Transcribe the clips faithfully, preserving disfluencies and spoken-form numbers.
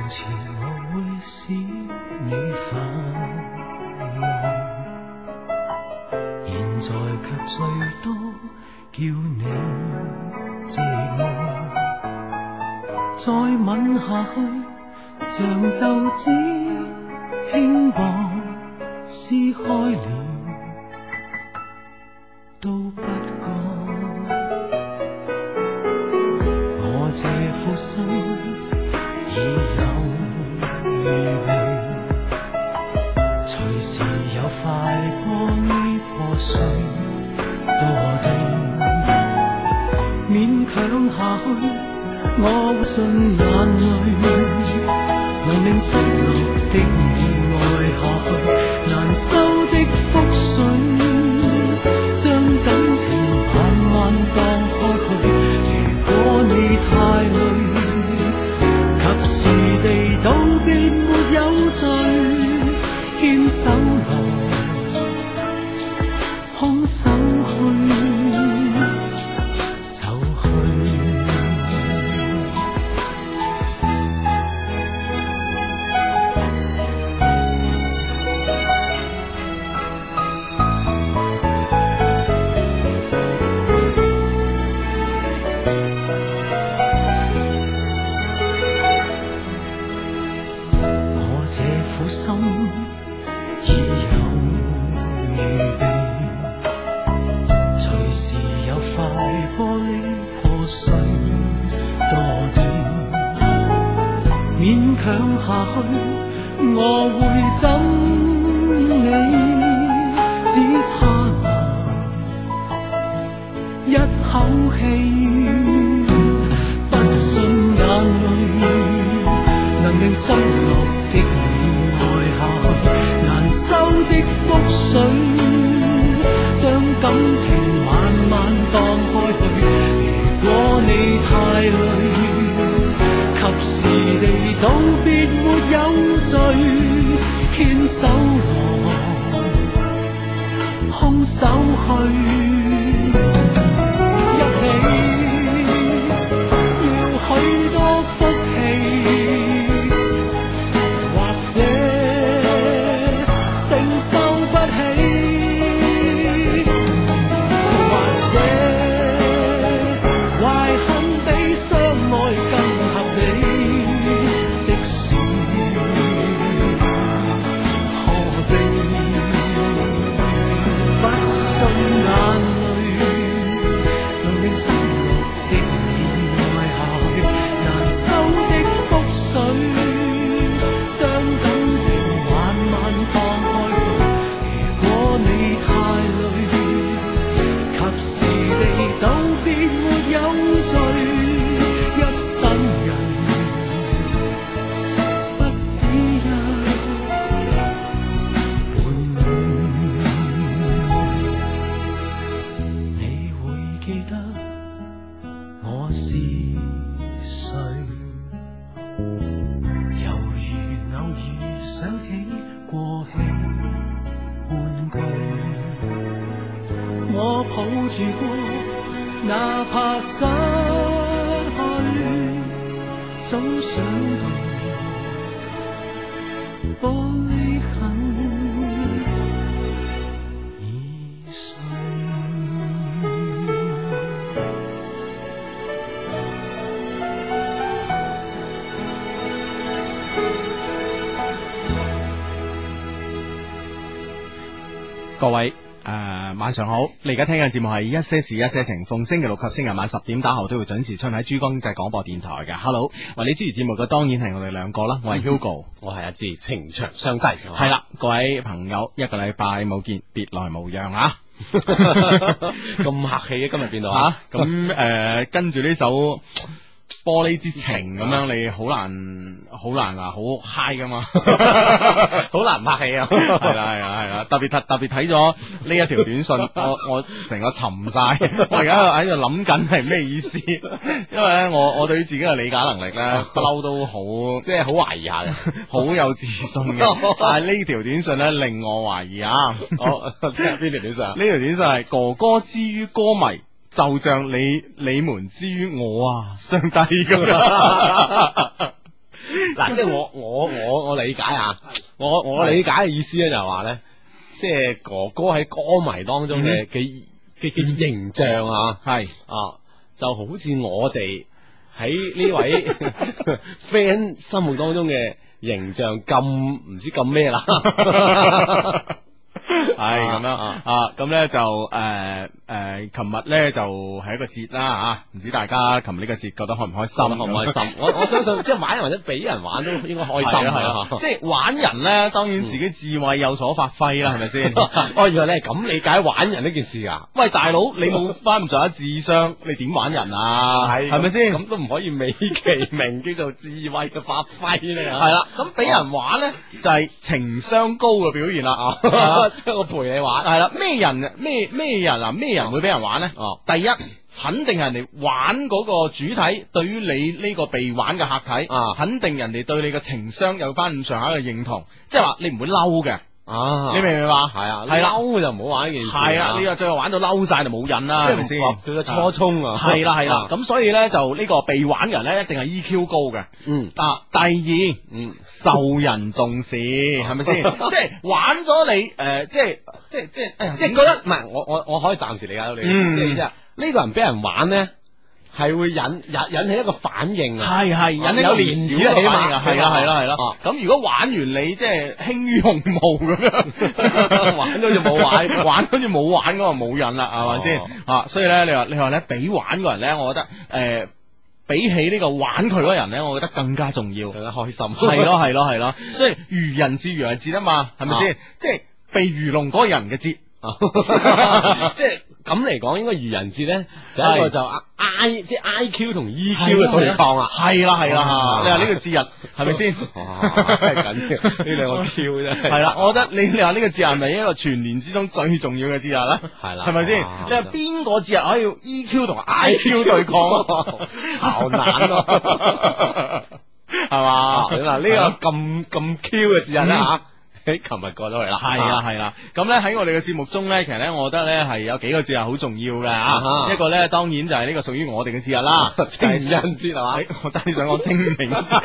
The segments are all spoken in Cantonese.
前我會使你快樂，現在卻最多叫你寂寞。再吻下去，像皺紙輕薄，撕開了都不覺。我這副心已有預備，隨時有塊玻璃破碎墮地，勉強下去。我信眼淚能令失落的意愛下去，難收的覆水將感情慢慢盪開去。如果你太累，及時地道別沒有罪，牽手來空手去。 各位誒、呃，晚上好！你而家聽嘅節目係一些事一些情，逢星期六及星期晚十點打後都會準時出喺珠江經濟廣播電台嘅。Hello，為你主持節目嘅當然係我哋兩個啦，我係 Hugo， 我係阿志，情長相低。 係啦，各位朋友，一個禮拜冇見，別來無恙啊！ 咁客氣啊，今日變到啊！咁誒、呃，跟住呢首玻璃之情咁樣，你好難好難啊，好 high 噶嘛， 好難拍戲啊！ 係啦係啦係啦，特別特特別睇咗呢一條短信，我我成個沉晒，我而家喺度諗緊係咩意思，因為咧我我對於自己嘅理解能力咧不嬲都好， 即係好懷疑下嘅， 好有自信嘅，但係呢條短信咧令我懷疑啊！ 我聽邊條短信？呢條短信係哥哥之於歌迷。就像你你們之於我啊，相低咁。 嗱，即係我我我我理解啊，我我理解嘅意思咧就係話咧，即係哥哥喺歌迷當中嘅嘅嘅嘅形象啊， 係啊，就好似我哋喺呢位 friend 心目當中嘅形象咁唔知咁咩啦。 係咁樣啊，咁咧就誒誒，琴日咧就係一個節啦吓，唔知大家琴日呢個節覺得開唔開心？ 開唔開心？我我相信即係玩人或者俾人玩都應該開心係啊，即係玩人咧，當然自己智慧有所發揮啦，係咪先？ 哦，原來你係咁理解玩人呢件事啊？ 喂，大佬，你冇翻唔上下智商，你點玩人啊？係係咪先？ 咁都唔可以美其名叫做智慧嘅發揮咧。 係啦，咁俾人玩咧就係情商高嘅表現啦啊！ 即係我陪你玩， 係啦，咩人咩咩人啊？咩人會俾人玩咧？ 哦， 第一，肯定人哋玩嗰個主體對於你呢個被玩嘅客體啊， 肯定人哋對你嘅情商有翻咁上下嘅認同，即係話你唔會嬲嘅。 啊， 你明唔明白？ 係啊， 係啦， 嬲就唔好玩呢件事。 係啊，你話最後玩到嬲晒就冇癮啦，係咪先？ 佢嘅初衷啊， 係啦係啦，咁所以咧就呢個被玩人咧一定係 E Q 高嘅。 嗯， 啊，第二， 嗯， 受人重視，係咪先？即係玩咗你誒，即係即係即係， 即係覺得唔係我我我可以暫時理解到你，即係即係呢個人俾人玩咧。係會引引引起一個反應啊， 係係引起個連小嘅反應啊，係啦係啦係啦。咁如果玩完你即係輕於鴻毛咁樣，玩到就冇玩，玩好似冇玩咁就冇癮啦，係咪先？啊，所以咧你話你話咧俾玩個人咧，我覺得誒比起呢個玩佢嗰人咧，我覺得更加重要， 更加開心。 係咯係咯係咯，所以愚人節愚人節啊嘛，係咪先？即係被愚弄嗰個人嘅節。 即係咁嚟講，應該愚人節咧，就一個就 I 即係 I Q 同 E Q 嘅對抗啦。 係啦係啦，你話呢個節日係咪先？ 真係緊要呢兩個 Q 啫。 係啦，我覺得你你話呢個節日係咪一個全年之中最重要嘅節日咧？係啦，係咪先？你話邊個節日可以 E Q 同 I Q 對抗？ 好難咯， 係嘛？ 嗱呢個咁咁 Q 嘅節日咧吓。喺琴日過咗嚟啦， 係啦係啦，咁咧喺我哋嘅節目中咧，其實咧，我覺得咧係有幾個節日好重要嘅啊，一個咧當然就係呢個屬於我哋嘅節日啦， 情人節係嘛， 我真係想講清明節，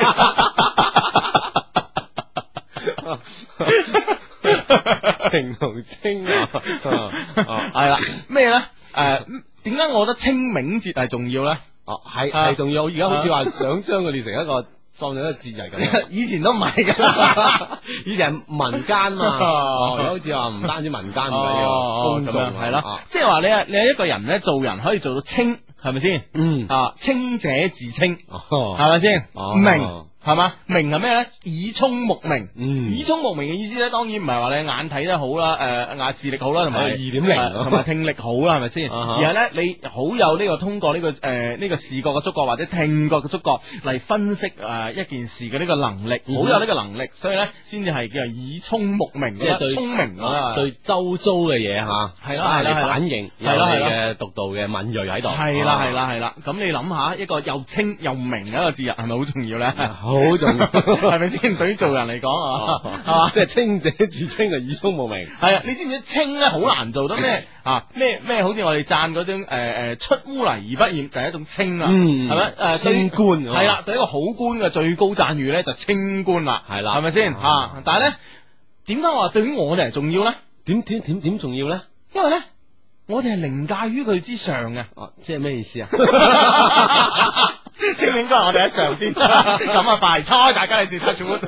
情同清啊， 係啦，咩咧？誒，點解我覺得清明節係重要咧？ 哦，係係重要，而家好似話想將佢列成一個。當咗一個節日咁， 以前都唔係噶， 以前係民間嘛，而家好似話唔單止民間唔緊要，公眾係咯，即係話你係你係一個人咧，做人可以做到清，係咪先？嗯啊，清者自清，係咪先？明係嘛？明係咩咧？耳聰目明，耳聰目明嘅意思咧，當然唔係話你眼睇得好啦，誒眼視力好啦，同埋二點零，同埋聽力好啦，係咪先？而係咧，你好有呢個通過呢個誒呢個視覺嘅觸覺或者聽覺嘅觸覺嚟分析誒一件事嘅呢個能力，好有呢個能力，所以咧先至係叫做耳聰目明，即係對聰明啊，對周遭嘅嘢吓，係啦係啦反應，有你嘅獨到嘅敏銳喺度，係啦係啦係啦。咁你諗下一個又清又明嘅一個節日，係咪好重要咧？好重要，係咪先？對於做人嚟講啊，係嘛，即係清者自清就耳聰目明。係啊，你知唔知清咧好難做得咩啊？咩咩？好似我哋讚嗰種誒誒出污泥而不染，就係一種清啊，係咪？誒清官係啦，對一個好官嘅最高讚譽咧就清官啦，係啦，係咪先啊？但係咧，點解話對於我哋係重要咧？點點點點重要咧？因為咧，我哋係凌駕於佢之上嘅。哦，即係咩意思啊？清明嗰日我哋喺上邊，咁啊快猜大家嚟試 touch wood。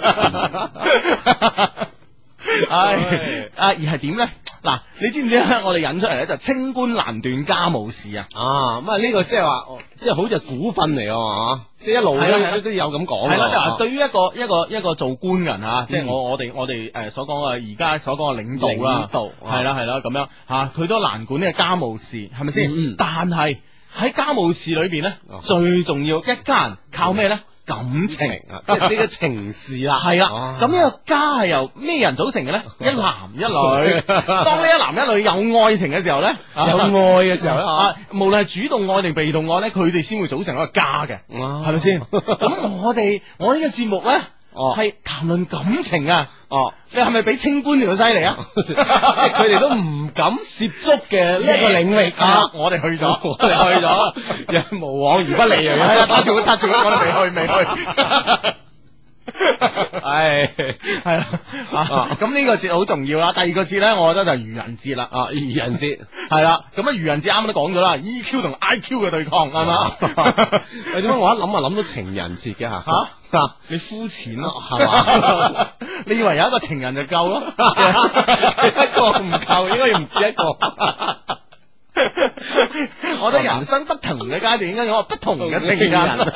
唉，啊而係點咧？嗱，你知唔知咧？我哋引出嚟咧就清官難斷家務事啊！啊，咁啊呢個即係話，即係好似股份嚟啊，即係一路都都有咁講。係啦，就係對於一個一個一個做官人啊，即係我我哋我哋誒所講嘅而家所講嘅領導啦，領導係啦係啦咁樣吓，佢都難管呢個家務事，係咪先？但係喺家務事裏邊咧，最重要一家人靠咩咧？感情啊，即係呢個情事啦，係啦。咁呢個家係由咩人組成嘅咧？一男一女。當呢一男一女有愛情嘅時候咧，有愛嘅時候咧，啊，無論係主動愛定被動愛咧，佢哋先會組成一個家嘅，係咪先？咁我哋我呢個節目咧，哦，係談論感情啊，哦，你係咪比清官仲犀利啊？即係佢哋都唔敢涉足嘅呢一個領域啊！我哋去咗，我哋去咗，無往而不利啊！係啊，打住打住，我哋未去未去。 唉， 係啦，啊咁呢個節好重要啦。第二個節咧，我覺得就係愚人節啦。 啊，愚人節係啦，咁啊愚人節啱啱都講咗啦，E Q 同 I Q 嘅對抗係嘛？ 喂，點解我一諗啊諗到情人節嘅吓？ 吓，你膚淺咯，係嘛？你以為有一個情人就夠咯？ 一個唔夠，應該要唔止一個。 我覺得人生不同嘅階段應該有不同嘅情人。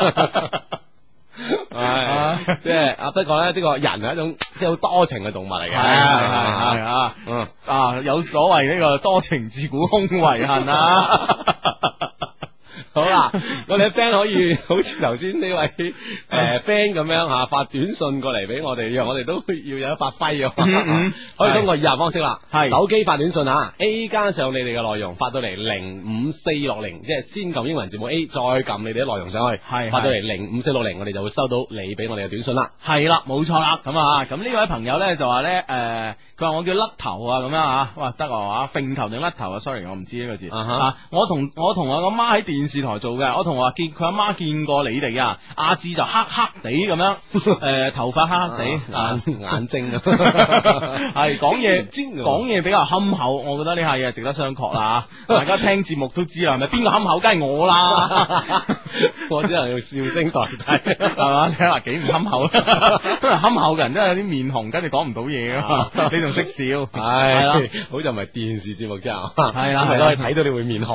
係，即係啊，不過咧，呢個人係一種即係好多情嘅動物嚟嘅。 係係係啊，嗯啊，有所謂呢個多情自古空遺恨啊。 好啦，我哋嘅 friend 可以好似頭先呢位誒 friend 咁樣吓發短信過嚟俾我哋，讓我哋都要有得發揮啊！可以通過以下方式啦，係手機發短信吓 A 加上你哋嘅內容發到嚟零五四六零，即係先撳英文字母 A， 再撳你哋啲內容上去，係發到嚟零五四六零，我哋就會收到你俾我哋嘅短信啦。係啦，冇錯啦。咁啊，咁呢位朋友咧就話咧誒，佢話我叫甩頭啊，咁樣啊，哇得啊，揈頭定甩頭啊 ？Sorry， 我唔知呢個字啊。我同我同我個媽喺電視台做嘅，我同我話見佢阿媽見過你哋啊，阿志就黑黑地咁樣，誒頭髮黑黑地，眼眼睛啊，係講嘢講嘢比較憨厚，我覺得呢下嘢係值得商榷啦。大家聽節目都知啦，係咪邊個憨厚？梗係我啦，我只能用笑聲代替，係嘛？你話幾唔憨厚？憨厚嘅人都有啲面紅，跟住講唔到嘢啊嘛，你仲識笑，係啦，好就唔係電視節目啫，係啦，係咯，睇到你會面紅。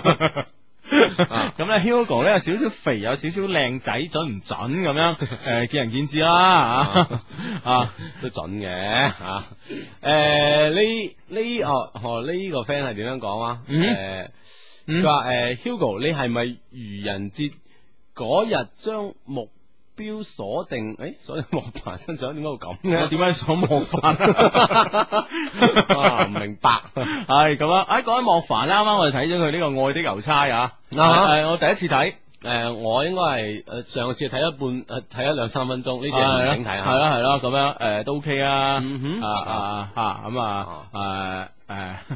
咁咧 Hugo 咧有少少肥，有少少靚仔，準唔準咁樣？誒，見仁見智啦，啊，啊都準嘅吓。誒，呢呢哦哦呢個 friend 係點樣講啊？誒，佢話誒 Hugo，你係咪愚人節嗰日將目標鎖定？誒，鎖定莫凡身上，點解會咁嘅？我點解鎖莫凡啊？唔明白。係咁啊！誒，講起莫凡咧，啱啱我哋睇咗佢呢個《愛的郵差》啊。誒，我第一次睇。誒，我應該係誒上個次睇一半，誒睇咗兩三分鐘，呢次係唔整睇啊。係啦係啦，咁樣誒都 OK 啊。嗯哼。啊啊咁啊誒。誒，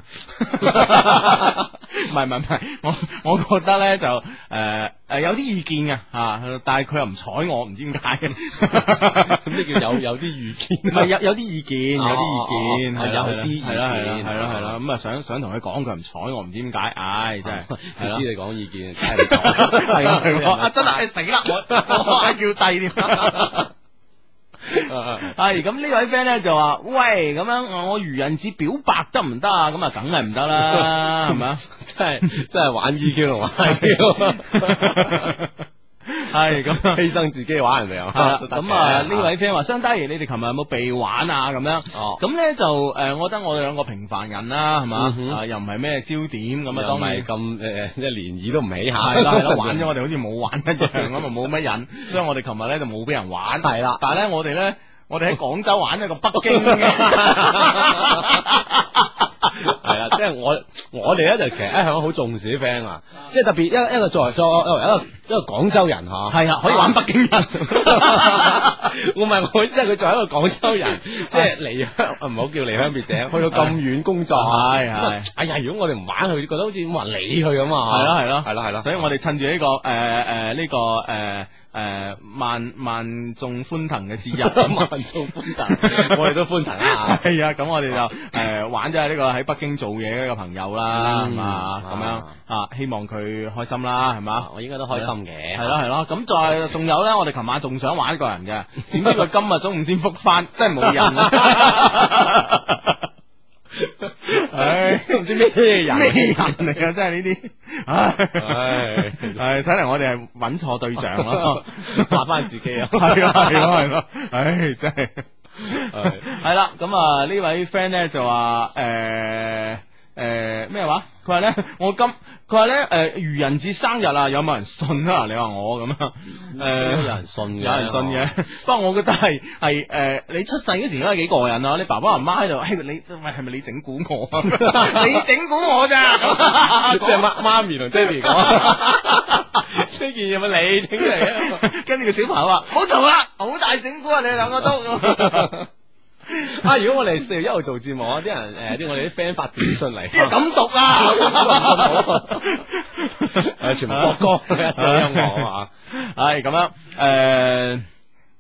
唔係唔係唔係，我我覺得咧就誒誒、呃、有啲意見嘅吓，但係佢又唔睬我，唔知點解嘅。咁呢叫有有啲意見，唔係有有啲意見，有啲意見係有啲意見，係啦係啦係啦係啦，咁啊想想同佢講，佢唔睬我，唔知點解，唉真係，係知你講意見，梗係唔睬，係啊係啊，真係死啦，我我嗌叫低添。係咁呢位 friend 咧就話喂，咁樣我愚人節表白得唔得啊？咁啊梗係唔得啦，係咪啊？真係真係玩 E Q 同玩 I Q。係咁犧牲自己玩人哋啊！咁啊呢位 friend 話相低，你哋琴日有冇被玩啊？咁樣哦，咁咧就誒，我覺得我哋兩個平凡人啦，係嘛啊，又唔係咩焦點咁啊，當然咁誒，一漣漪都唔起下，係啦係啦，玩咗我哋好似冇玩一樣咁啊，冇乜癮，所以我哋琴日咧就冇俾人玩，係啦，但係咧我哋咧，我哋喺廣州玩咗個北京嘅。係啦，即係我我哋咧就其實一向好重視啲 friend 啊，即係特別一一個作為作為一個一個廣州人吓，係啊，可以玩北京人。我唔係我意思係佢作為一個廣州人，即係離鄉唔好叫離鄉別井，去到咁遠工作，係係。哎呀，如果我哋唔玩佢，覺得好似冇人理佢咁啊。係咯係咯係咯係咯，所以我哋趁住呢個誒誒呢個誒。誒，萬萬眾歡騰嘅節日，萬眾歡騰，我哋都歡騰啊！係啊，咁我哋就誒玩咗呢個喺北京做嘢嘅一個朋友啦，係嘛，咁樣啊，希望佢開心啦，係嘛，我應該都開心嘅，係咯係咯，咁再仲有咧，我哋琴晚仲想玩一個人嘅，點知佢今日中午先復翻，真係冇人啊！唉，都唔知咩人咩人嚟啊！真係呢啲，唉唉，睇嚟我哋係揾錯對象咯，話翻自己啊，係啊係咯係咯，唉真係，係啦，咁啊呢位 friend 咧就話誒誒咩話？佢話咧我今佢話咧誒愚人節生日啊，有冇人信啊？你話我咁啊？誒，有人信嘅，有人信嘅。不過我覺得係係誒，你出世嗰時應該幾過癮啊！你爸爸媽媽喺度，嘿，你喂係咪你整蠱我啊？你整蠱我咋？即係媽媽咪同爹哋講，呢件嘢咪你整嚟啊？跟住個小朋友話：好嘈啦，好大整蠱啊！你哋兩個都。啊！如果我哋四月一號做節目，啲人誒，啲我哋啲 friend 發短信嚟，咁讀啊！誒，全部播歌，一首音樂啊！係咁樣誒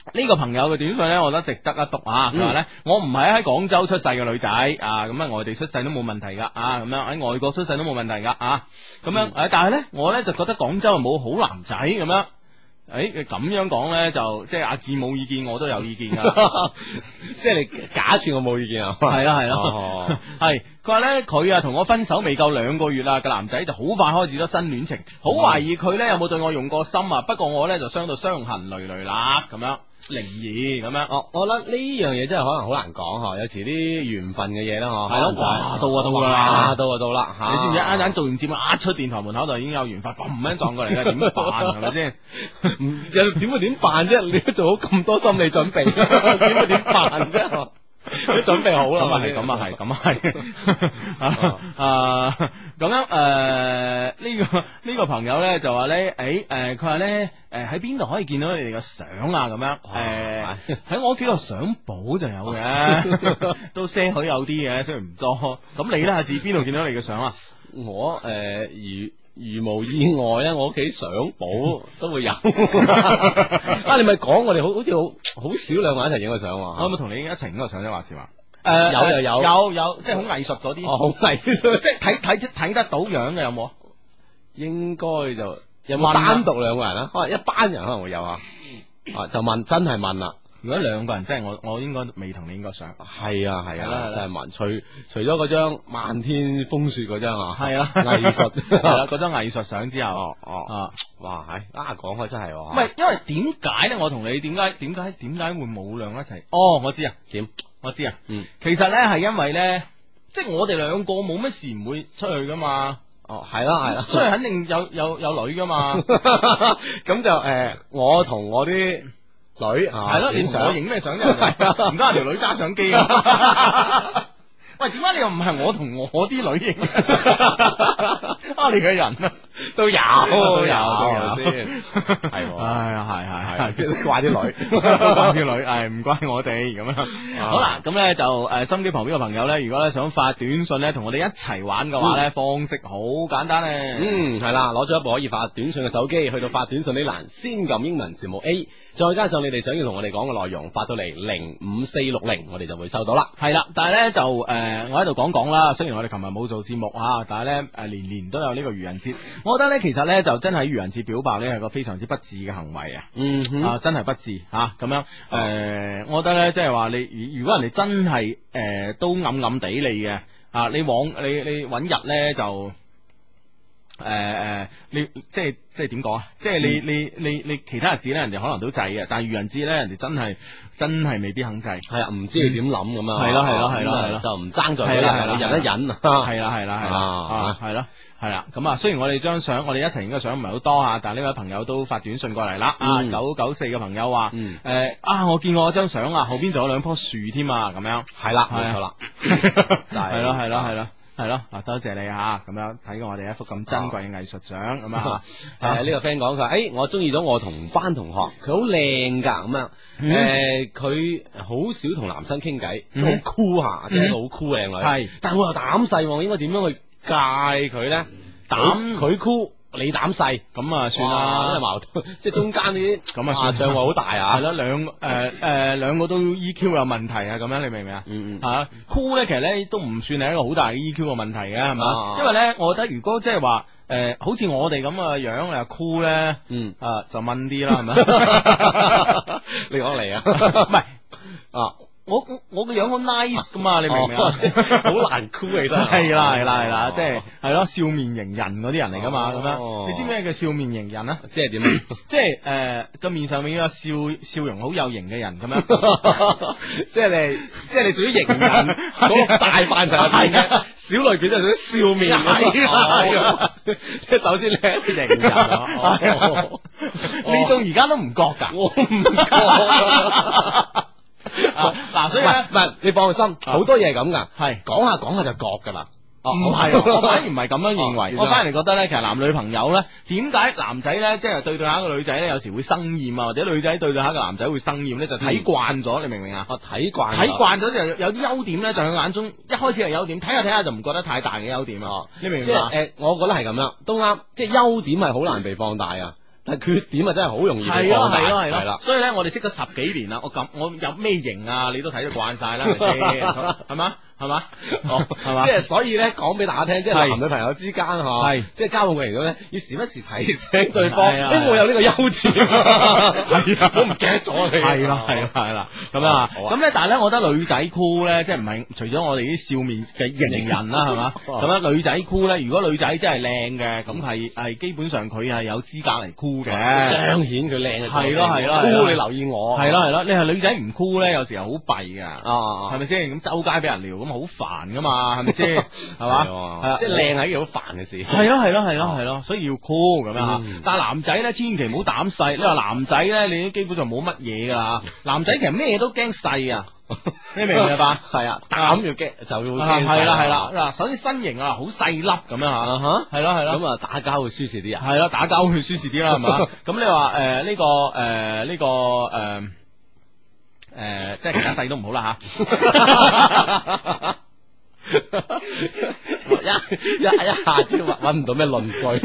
呢個朋友嘅短信咧，我覺得值得一讀啊！佢話咧，我唔係喺廣州出世嘅女仔啊，咁啊外地出世都冇問題噶啊，咁樣喺外國出世都冇問題噶啊，咁樣誒、嗯，但係咧我咧就覺得廣州係冇好男仔咁樣。誒，你咁樣講咧，就即係阿志冇意見，我都有意見噶。 即係你假設我冇意見啊？ 係啦係啦，係佢話咧，佢啊同我分手未夠兩個月啦，個男仔就好快開始咗新戀情，好懷疑佢咧有冇對我用過心啊。不過我咧就傷到傷痕累累啦，咁樣靈異咁樣。哦， 我覺得呢樣嘢真係可能好難講嗬，有時啲緣分嘅嘢啦嗬。係咯， 哇，到啊到啦， 到啊到啦吓！ 你知唔知啱啱做完節目，一出電台門口就已經有緣分，砰一撞過嚟嘅，點辦係咪先？ 又點會點辦啫？你都做好咁多心理準備，點會點辦啫？你準備好啦， 咁啊係，咁啊係，咁啊係。啊，咁樣誒，呢個呢個朋友咧就話咧，誒誒，佢話咧，誒喺邊度可以見到你哋嘅相啊？咁樣誒，喺我屋企個相簿就有嘅，都些許有啲嘅，雖然唔多。咁你咧，阿志邊度見到你嘅相啊？ 我誒如。如無意外咧，我屋企相簿都會有。啊，你咪講我哋好好似好好少兩個人一齊影個相。我有冇同你一齊影個相啫？話時話， 誒，有又有， 有有，即係好藝術嗰啲。 哦，好藝術， 即係睇睇睇得到樣嘅有冇？ 應該就有冇單獨兩個人啊？可能一班人可能會有啊。啊，就問，真係問啦。 如果兩個人，即係我我應該未同你影過相。 係啊係啊，真係問。除除咗嗰張漫天風雪嗰張啊， 係啊， 藝術係啦， 嗰張藝術相之後，哦哦啊，哇係啊，講開真係， 唔係因為點解咧？我同你點解點解點解會冇兩一齊？哦，我知啊， 點？ 我知啊， 嗯， 其實咧係因為咧，即係我哋兩個冇乜事唔會出去噶嘛。 哦，係啦係啦， 出去肯定有有有女噶嘛。 咁就誒，我同我啲。女係咯，你同我影咩相啫？唔得，條女揸相機啊！喂，點解你又唔係我同我啲女影？啊，你嘅人啊， 都有都有都有先，係， 係啊，係係係， 怪啲女， 怪啲女，係唔怪我哋咁樣。好啦，咁咧就誒，心機旁邊嘅朋友咧，如果咧想發短信咧，同我哋一齊玩嘅話咧，方式好簡單咧。 嗯，係啦，攞咗一部可以發短信嘅手機，去到發短信呢欄，先撳英文字母 A，再加上你哋想要同我哋講嘅內容，發到嚟零五四六零，我哋就會收到啦。 係啦，但係咧就誒。誒，我喺度講講啦。雖然我哋琴日冇做節目啊，但係咧誒，年年都有呢個愚人節。我覺得咧，其實咧就真係愚人節表白咧係個非常之不智嘅行為啊。嗯哼啊，真係不智吓咁樣。誒、呃，我覺得咧，即係話你如果人哋真係誒、呃、都暗暗地你嘅啊，你往你你揾日咧就。誒誒、呃，你即係即係點講啊？即係你、嗯、你你你其他日子咧，人哋可能都制嘅，但係愚人節咧，人哋真係真係未必肯制。係啊，唔知你點諗咁啊？係咯係咯係咯係咯，就唔爭在嗰日，忍一忍。係啦係啦係啦，係咯係啦。咁啊，雖然我哋張相，我哋一齊影嘅相唔係好多啊，但係呢位朋友都發短信過嚟啦。啊，九九四嘅朋友話，誒啊，我見過張相啊，後邊仲有兩棵樹添啊，咁樣。係啦，冇錯啦，係咯係咯係咯。係咯，啊多謝你吓，咁樣睇過我哋一幅咁珍貴嘅藝術相咁啊！誒，呢個 friend 講佢話，誒，我中意咗我同班同學，佢好靚噶，咁樣，誒，佢好少同男生傾偈，都好酷下，即係一個好酷靚女。係，但係我又膽細，應該點樣去戒佢咧？膽佢酷。你膽細咁啊，算啦，因為矛盾，即係中間呢啲咁啊，障礙好大啊。係咯，兩誒誒兩個都 E Q 有問題啊，咁樣你明唔明啊？嗯嗯。吓酷咧，其實咧都唔算係一個好大嘅 E Q 嘅問題嘅，係嘛？因為咧，我覺得如果即係話誒，好似我哋咁嘅樣，你話酷咧，嗯啊就問啲啦，係咪？你講嚟啊？唔係啊。我我個樣好 nice 噶嘛，你明唔明啊？好難酷起身。係啦係啦係啦，即係係咯，笑面迎人嗰啲人嚟噶嘛，咁樣。你知咩叫笑面迎人啊？即係點啊？即係誒個面上面有笑笑容好有型嘅人咁樣。即係你即係你屬於迎人嗰個大範疇入邊嘅小類別，就屬於笑面。係啊，即係首先你係一個迎人啊。你到而家都唔覺噶？我唔覺。嗱，所以咧，唔係你放心，好多嘢係咁噶，係講下講下就覺噶啦。哦，唔係，我反而唔係咁樣認為，我反而覺得咧，其實男女朋友咧，點解男仔咧，即係對對下一個女仔咧，有時會生厭啊，或者女仔對對下一個男仔會生厭咧，就睇慣咗，你明唔明啊？哦，睇慣，睇慣咗就有啲優點咧，就喺眼中一開始係優點，睇下睇下就唔覺得太大嘅優點啊。你明唔明啊？誒，我覺得係咁樣，都啱，即係優點係好難被放大啊。 但係缺點啊真係好容易係咯係咯係咯， 所以咧我哋識咗十幾年啦，我咁我有咩型啊，你都睇得慣晒啦，係咪先？係嘛？係嘛？哦，係嘛？ 即係所以咧，講俾大家聽，即係男女朋友之間嗬，係即係交往過程中咧，要時不時提醒對方，因為我有呢個優點，係啊，我唔記得咗你， 係啦係啦係啦，咁樣啊，咁咧，但係咧，我覺得女仔箍咧，即係唔係除咗我哋啲笑面嘅型人啦，係嘛？咁樣女仔箍咧，如果女仔真係靚嘅，咁係係基本上佢係有資格嚟箍嘅， 彰顯佢靚嘅，係咯係咯，箍你留意我， 係咯係咯，你係女仔唔箍咧，有時候好弊噶，啊，係咪先？咁周街俾人撩咁。好煩噶嘛，係咪先？係嘛？係啊，即係靚係一件好煩嘅事。係咯，係咯，係咯，係咯，所以要 cool 咁樣吓。但係男仔咧，千祈唔好膽細。你話男仔咧，你基本上冇乜嘢噶啦。男仔其實咩都驚細啊，你明唔明白？係啊，膽要驚就要驚。係啦，係啦。嗱，首先身形啊，好細粒咁樣吓，係咯，係咯。咁啊，打交會舒適啲啊。係咯，打交會舒適啲啦，係嘛？咁你話誒呢個誒呢個誒。誒、呃，即係其他細都唔好啦吓，一一一下子搵唔到咩論據，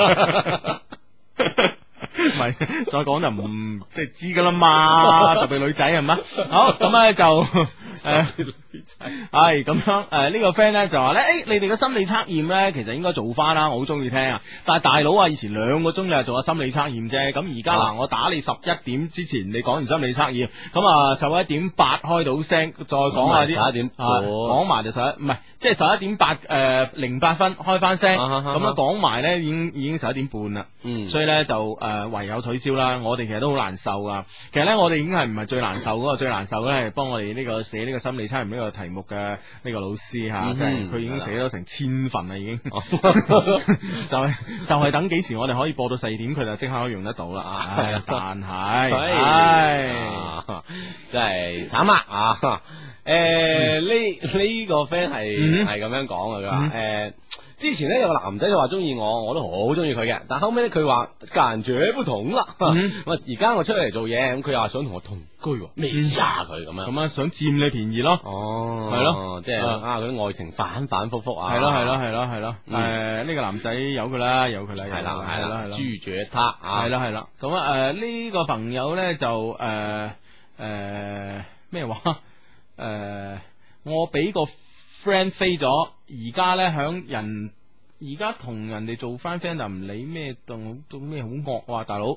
唔係再講就唔即係知噶啦嘛，特別女仔係嘛，好咁咧就誒。係咁樣，誒、呃這個、呢個 friend 咧就話咧，誒、欸、你哋嘅心理測驗咧，其實應該做翻啦，我好中意聽啊。但係大佬啊，以前兩個鐘就做下心理測驗啫，咁而家嗱，我打你十一點之前，你講完心理測驗，咁啊十一點八開到聲，再講下啲十一點，講埋就十一，唔係即係十一點八誒零八分開翻聲，咁樣講埋咧已經已經十一點半啦，嗯，所以咧就誒、呃、唯有取消啦。我哋其實都好難受啊。其實咧我哋已經係唔係最難受嗰個，最難受咧係幫我哋呢個寫呢個心理測驗呢個題目嘅呢個老師吓，即係佢已經寫咗成千份啦，已經就係就係等幾時我哋可以播到四點，佢就即刻可以用得到啦。唉，但係，唉，真係慘啊！啊，誒，呢呢個 friend 係係咁樣講啊，佢話誒。之前咧有個男仔就話中意我，我都好中意佢嘅。但後尾咧佢話感覺不同啦。咁啊而家我出嚟做嘢，咁佢又話想同我同居，咩事啊佢咁樣？咁啊想佔你便宜咯。哦，係咯，即係啊嗰啲愛情反反复复啊。係咯係咯係咯係咯。誒呢個男仔有佢啦，有佢啦。係啦係啦係啦。豬住他啊。係啦係啦。咁啊誒呢個朋友咧就誒誒咩話？誒我俾個 friend 飛咗，而家咧響人，而家同人哋做翻 friend 就唔理咩，到到咩好惡啊，大佬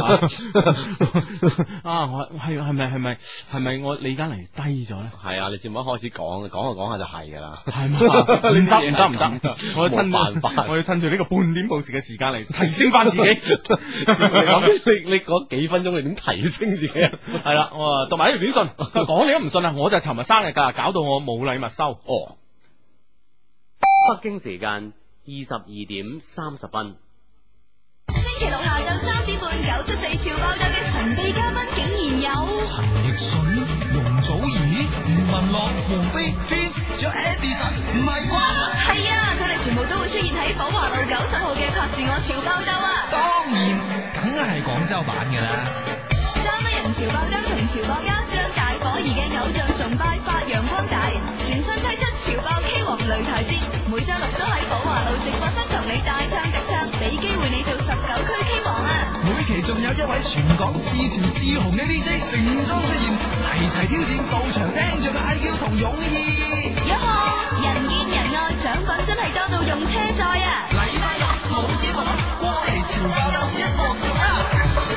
啊！我係係咪係咪係咪我你而家嚟低咗咧？係啊，你節目一開始講，講下講下就係噶啦，係嘛？唔得唔得唔得，我要趁辦法，我要趁住呢個半點報時嘅時間嚟提升翻自己。你你嗰幾分鐘你點提升自己啊？係啦，我讀埋呢條短信，佢講你都唔信啊！我就尋日生日噶，搞到我冇禮物收。哦。 北京時間二十二點三十分。 星期六下晝三點半，九七四潮爆炸嘅神秘嘉賓竟然有陳奕迅、容祖兒、余文樂、王菲、Twins，仲有 Edison， 唔係啩？ 係啊，佢哋全部都會出現喺寶華路九十號嘅拍住我潮爆炸啊！ 當然，梗係廣州版嘅啦。 三一人潮爆炸同潮爆家將大伙兒嘅偶像崇拜發揚光大，全新推出潮爆 K 王擂台節，每周六都喺寶華路直播室同你大唱特唱，俾機會你做十九區 K 王啊！ 每期仲有一位全港至前至紅嘅 D J 盛裝出現，齊齊挑戰到場聽着嘅 I Q 同勇氣。 有冇人見人愛，獎品真係多到用車載啊！ 禮拜六冇節目，過嚟潮爆炸一鑊熟啊！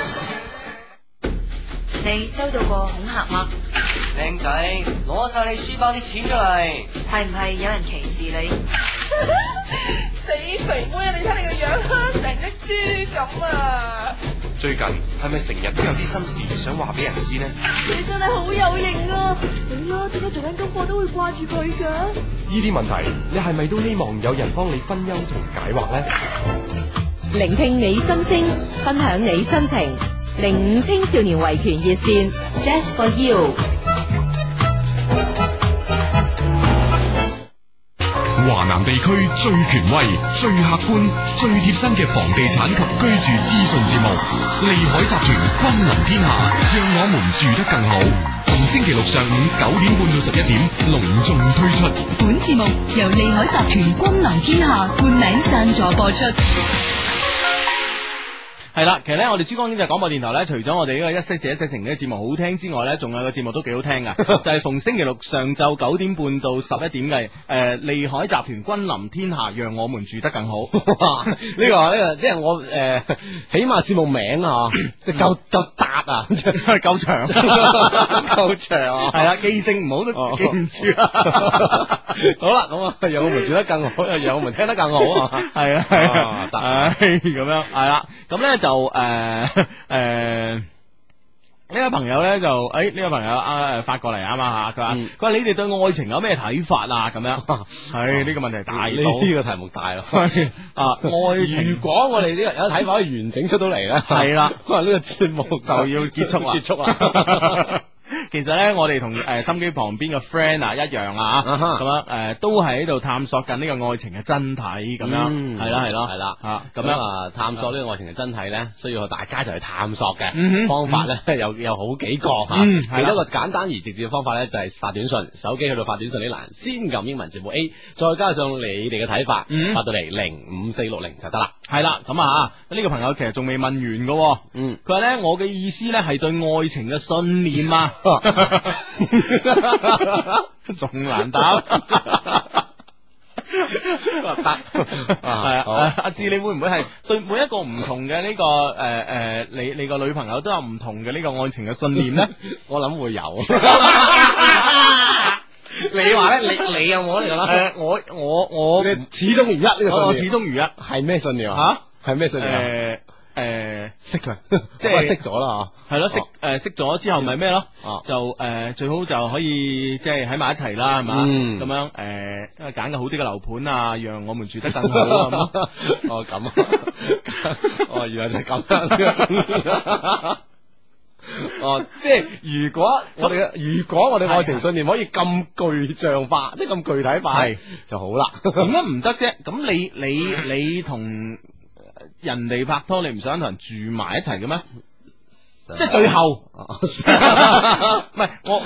你收到過恐嚇嗎？ 靚仔，攞晒你書包啲錢出嚟。 係唔係有人歧視你？ 死肥妹啊！你睇你個樣，成隻豬咁啊！ 最近係咪成日都有啲心事想話俾人知呢？ 你真係好有型啊！死啦！點解做緊功課都會掛住佢㗎？ 呢啲問題，你係咪都希望有人幫你分憂同解惑呢？ 聆聽你心聲，分享你心情。零五青少年維權熱線 Just for you。 華南地區最權威、最客觀、最貼身嘅房地產及居住資訊節目，利海集團君臨天下，讓我們住得更好。逢星期六上午九點半到十一點隆重推出。 本節目由利海集團君臨天下冠名贊助播出。 係啦，其實咧我哋珠江經濟廣播電台咧，除咗我哋呢個一些事一些情嘅節目好聽之外咧，仲有個節目都幾好聽噶，就係逢星期六上晝九點半到十一點嘅誒利海集團君臨天下，讓我們住得更好。 呢個呢個即係我誒，起碼節目名啊，即係夠夠達啊， 夠長， 夠長啊， 係啊，記性唔好都記唔住啊。 好啦，咁啊，讓我們住得更好，讓我們聽得更好啊， 係啊係啊，得咁樣係啦，咁咧就誒誒。呢個朋友咧就誒呢、哎這個朋友啊誒發過嚟啊嘛吓，佢話佢話你哋對愛情有咩睇法啊咁樣，係呢、這個問題大到呢個題目大咯啊愛情， 如果我哋呢個有睇法可以完整出到嚟咧，係啦，可能呢個節目就要結束啦，結束啦。 其實咧，我哋同誒心機旁邊嘅 friend 啊一樣啊，咁樣誒都係喺度探索緊呢個愛情嘅真體，咁樣係啦係咯係啦啊，咁樣啊探索呢個愛情嘅真體咧，需要大家就去探索嘅方法咧，有有好幾個吓，其中一個簡單而直接嘅方法咧就係發短信，手機去到發短信呢欄，先撳英文字母 A， 再加上你哋嘅睇法，發到嚟零五四六零就得啦。係啦，咁啊呢個朋友其實仲未問完嘅，嗯，佢話咧我嘅意思咧係對愛情嘅信念啊。仲難答，得係啊！阿志，你會唔會係對每一個唔同嘅呢、這個誒誒、呃，你你個女朋友都有唔同嘅呢個愛情嘅信念咧？ 我諗會有。你話咧，你你有冇嚟噶啦？ 誒，我我我始終如一呢個信念， 我始終如一係咩信念啊？吓，係咩信念啊？誒。 誒，識佢， 即係識咗啦， 係咯，識誒，識咗之後咪咩咯？就誒，最好就可以即係喺埋一齊啦，係嘛？咁樣誒，揀個好啲嘅樓盤啊，讓我們住得更好啊！ 哦，咁啊，哦，原來就係咁樣。哦，即係如果我哋嘅，如果我哋愛情信念可以咁具象化，即係咁具體化，係就好啦。 點解唔得啫？咁你你你同人哋拍拖，你唔想同人住埋一齊嘅咩？即係最後，唔係我。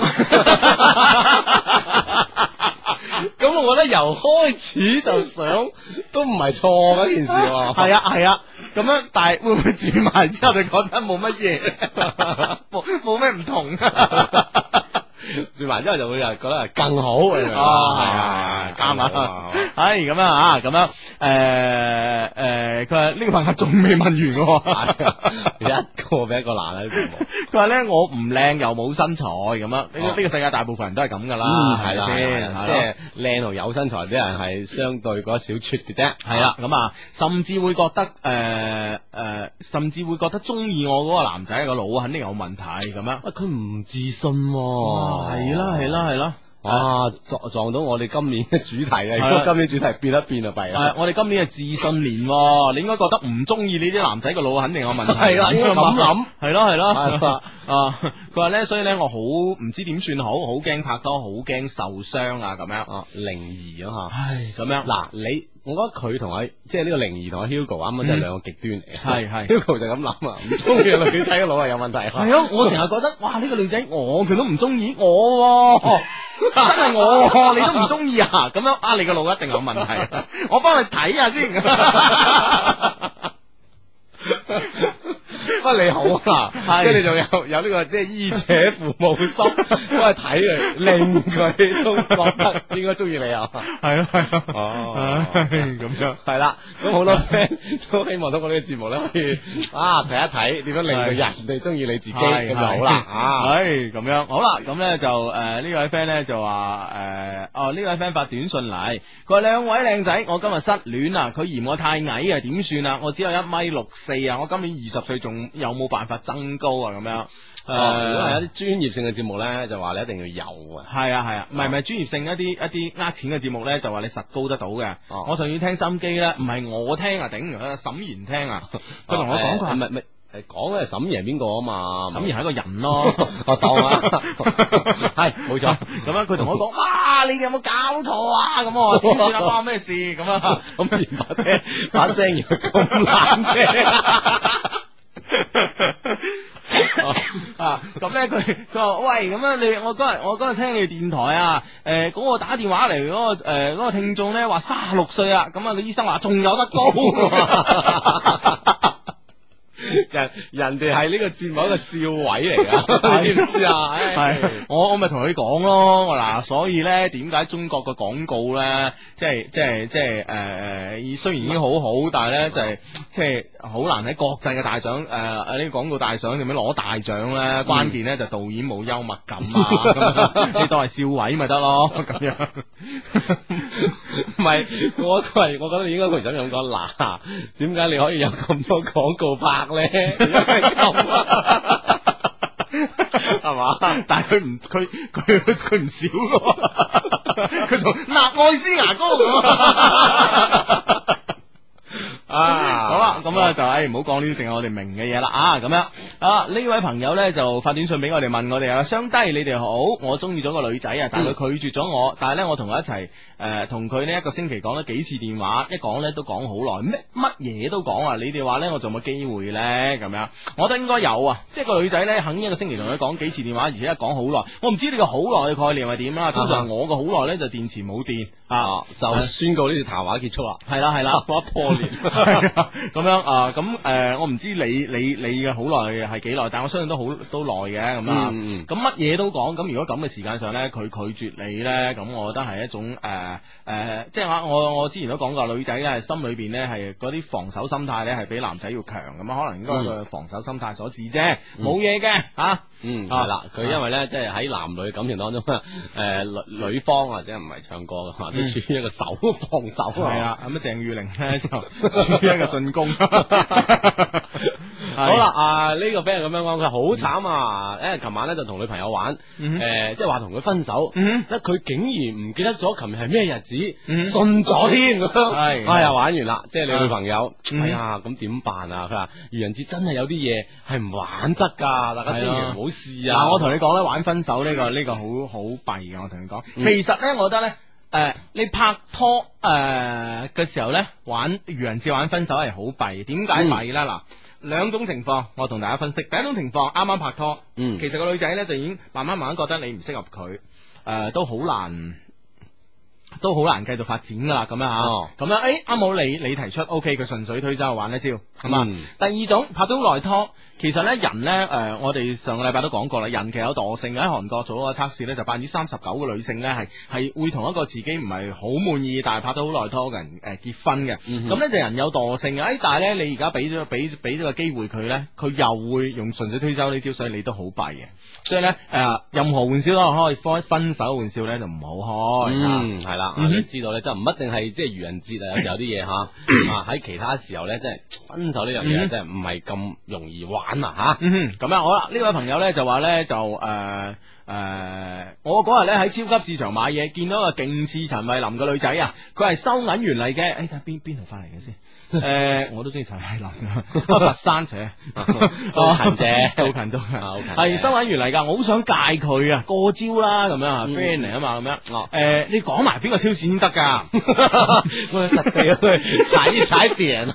咁我覺得由開始就想都唔係錯嗰件事。 係啊係啊，咁樣，但係會唔會住埋之後你覺得冇乜嘢，冇冇咩唔同？ 住埋之後就會又覺得係更好。 哦，係啊，啱啊，係咁樣啊，咁樣，誒誒，佢話呢個朋友仲未問完嘅， 一個比一個難啊！ 佢話咧我唔靚又冇身材咁樣，呢個呢個世界大部分人都係咁噶啦，係啦， 即係靚同有身材啲人係相對嗰小撮嘅啫， 係啦，咁啊，甚至會覺得誒誒，甚至會覺得中意我嗰個男仔個腦肯定有問題咁樣， 喂，佢唔自信。 係啦係啦係啦， 啊撞撞到我哋今年嘅主題啊！如果今年主題變一變就弊啦。 我哋今年係自信年，你應該覺得唔中意呢啲男仔個腦肯定有問題。 係啦，應該咁諗。 係咯係咯。啊，佢話咧，所以咧我好唔知點算好，好驚拍拖，好驚受傷啊咁樣。啊， 靈兒啊吓。 唉，咁樣嗱你。我覺得佢同阿即係呢個靈兒同阿 Hugo 啱啱真係兩個極端嚟嘅。 係係 Hugo 就咁諗啊，唔中意個女仔嘅腦係有問題。 係啊，我成日覺得哇呢個女仔我佢都唔中意我，真係我你都唔中意啊，咁樣啊你個腦一定有問題，我幫你睇下先。 不過你好啊，跟住仲有有呢個即係醫者父母心，幫佢睇佢，令佢都覺得應該中意你啊。 係咯係咯， 哦，咁樣係啦。咁好多 friend 都希望通過呢個節目咧，可以啊睇一睇點樣令到人哋中意你自己，咁就好啦。啊， 係咁樣好啦。咁咧就誒呢位 friend 咧就話誒哦呢位 friend 發短信嚟，佢話兩位靚仔，我今日失戀啊，佢嫌我太矮啊，點算啊？我只有一米六四啊，我今年二十歲，仲有冇辦法增高啊？咁樣誒，如果係一啲專業性嘅節目咧，就話你一定要有啊。 係啊係啊，唔係唔係專業性一啲一啲呃錢嘅節目咧，就話你實高得到嘅。我上次聽心機咧，唔係我聽啊，頂，沈賢聽啊，佢同我講佢係咪咪。 誒，講嘅係沈爺邊個啊嘛？ 沈爺係一個人咯， 我當啊，係冇錯。 咁樣佢同我講，哇，你哋有冇搞錯啊？咁我點算啊？關我咩事？咁啊， 沈爺把聲把聲要咁難聽啊！咁咧佢佢話喂，咁樣你我嗰日我嗰日聽你電台啊，誒嗰個打電話嚟嗰個誒嗰個聽眾咧話卅六歲啊，咁啊個醫生話仲有得高。 人人哋係呢個節目一個笑位嚟噶，知唔知啊？ 係我我咪同佢講咯，嗱，所以咧點解中國嘅廣告咧，即係即係即係誒誒，雖然已經好好，但係咧就係即係好難喺國際嘅大獎誒誒呢個廣告大獎點樣攞大獎咧？關鍵咧就導演冇幽默感啊，咁你當係笑位咪得咯，咁樣。 唔係，我係我覺得你應該佢想咁講，嗱，點解你可以有咁多廣告拍咧？係嘛？ 但係佢唔佢佢佢唔少噶，佢同納愛斯牙膏咁。啊，好啦，咁啊就誒唔好講呢啲淨係我哋明嘅嘢啦啊，咁樣啊呢位朋友咧就發短信俾我哋問我哋啊，雙低你哋好，我中意咗個女仔啊，但係佢拒絕咗我，但係咧我同佢一齊誒同佢呢一個星期講咗幾次電話，一講咧都講好耐，咩乜嘢都講啊，你哋話咧我仲有冇機會咧？咁樣，我覺得應該有啊，即係個女仔咧肯一個星期同佢講幾次電話，而且一講好耐，我唔知呢個好耐嘅概念係點啦，通常我個好耐咧就電池冇電啊， 就宣告呢條談話結束啦， 係啦係啦， 我破裂。 咁樣啊，咁誒、呃，我唔知你你你嘅好耐係幾耐，但我相信都好都耐嘅咁啊。咁乜嘢都講，咁如果咁嘅時間上咧，佢拒絕你咧，咁我覺得係一種誒誒、呃呃，即係話我我之前都講過，女仔咧心裏邊咧係嗰啲防守心態咧係比男仔要強咁啊，可能應該個防守心態所致啫，冇嘢嘅吓。嗯，係啦， 佢因為咧即係喺男女感情當中，誒、呃、女女方或者唔係唱歌嘅話，都處於一個守防守啊。係啊，咁啊鄭裕玲咧就處於一個進攻。 好啦，啊呢、這個 friend 咁樣講，佢好慘啊！誒，琴晚咧就同女朋友玩，誒、嗯呃，即係話同佢分手，嗯、即係佢竟然唔記得咗琴日係咩日子，嗯、信咗添咁樣，係，哎呀玩完啦，即係你女朋友，嗯、哎呀咁點辦啊？佢話愚人節真係有啲嘢係唔玩得噶，大家千祈唔好試啊！ 嗱，我同你講咧，玩分手呢、這個呢、這個好好弊嘅，我同你講，嗯、其實咧，我覺得咧。誒、呃，你拍拖誒嘅、呃、時候咧，玩愚人節玩分手係好弊，點解弊咧？嗱、嗯，兩種情況，我同大家分析。第一種情況，啱啱拍拖，嗯，其實個女仔咧就已經慢慢慢慢覺得你唔適合佢，誒、呃，都好難，都好難繼續發展噶啦，咁樣吓，咁、哦、樣，誒、欸，啱好你你提出，O K，佢順水推舟玩一招，咁啊、嗯，第二種拍咗好耐拖。其實咧，人咧，誒、呃，我哋上個禮拜都講過啦，人其實有惰性嘅。喺韓國做嗰個測試咧，就百分之三十九嘅女性咧，係係會同一個自己唔係好滿意，但係拍咗好耐拖嘅人誒、呃、結婚嘅。咁咧、嗯、哼就人有惰性嘅，誒，但係咧你而家俾咗俾俾咗個機會佢咧，佢又會用順水推舟呢招，所以你都好弊嘅。所以咧，誒、呃，任何玩笑都開，開分手玩笑咧就唔好開。嗯，係啦，你知道咧，就唔一定係即係愚人節啊，有時有啲嘢吓啊喺其他時候咧，即係分手呢樣嘢，即係唔係咁容易玩。咁啊吓，嗯哼，咁樣好啦。呢位朋友咧就話咧就誒誒、呃呃，我嗰日咧喺超級市場買嘢，見到個勁似陳慧琳嘅女仔啊，佢係收銀員嚟嘅。誒，睇下邊邊度翻嚟嘅先。誒、呃，我都中意陳慧琳啊，佛山姐，好近啫，好近都係收銀員嚟噶。我好想戒佢啊，過招啦咁樣啊 friend 嚟啊嘛，咁樣。誒、呃，你講埋邊個超市先得噶？我實地去踩一踩點。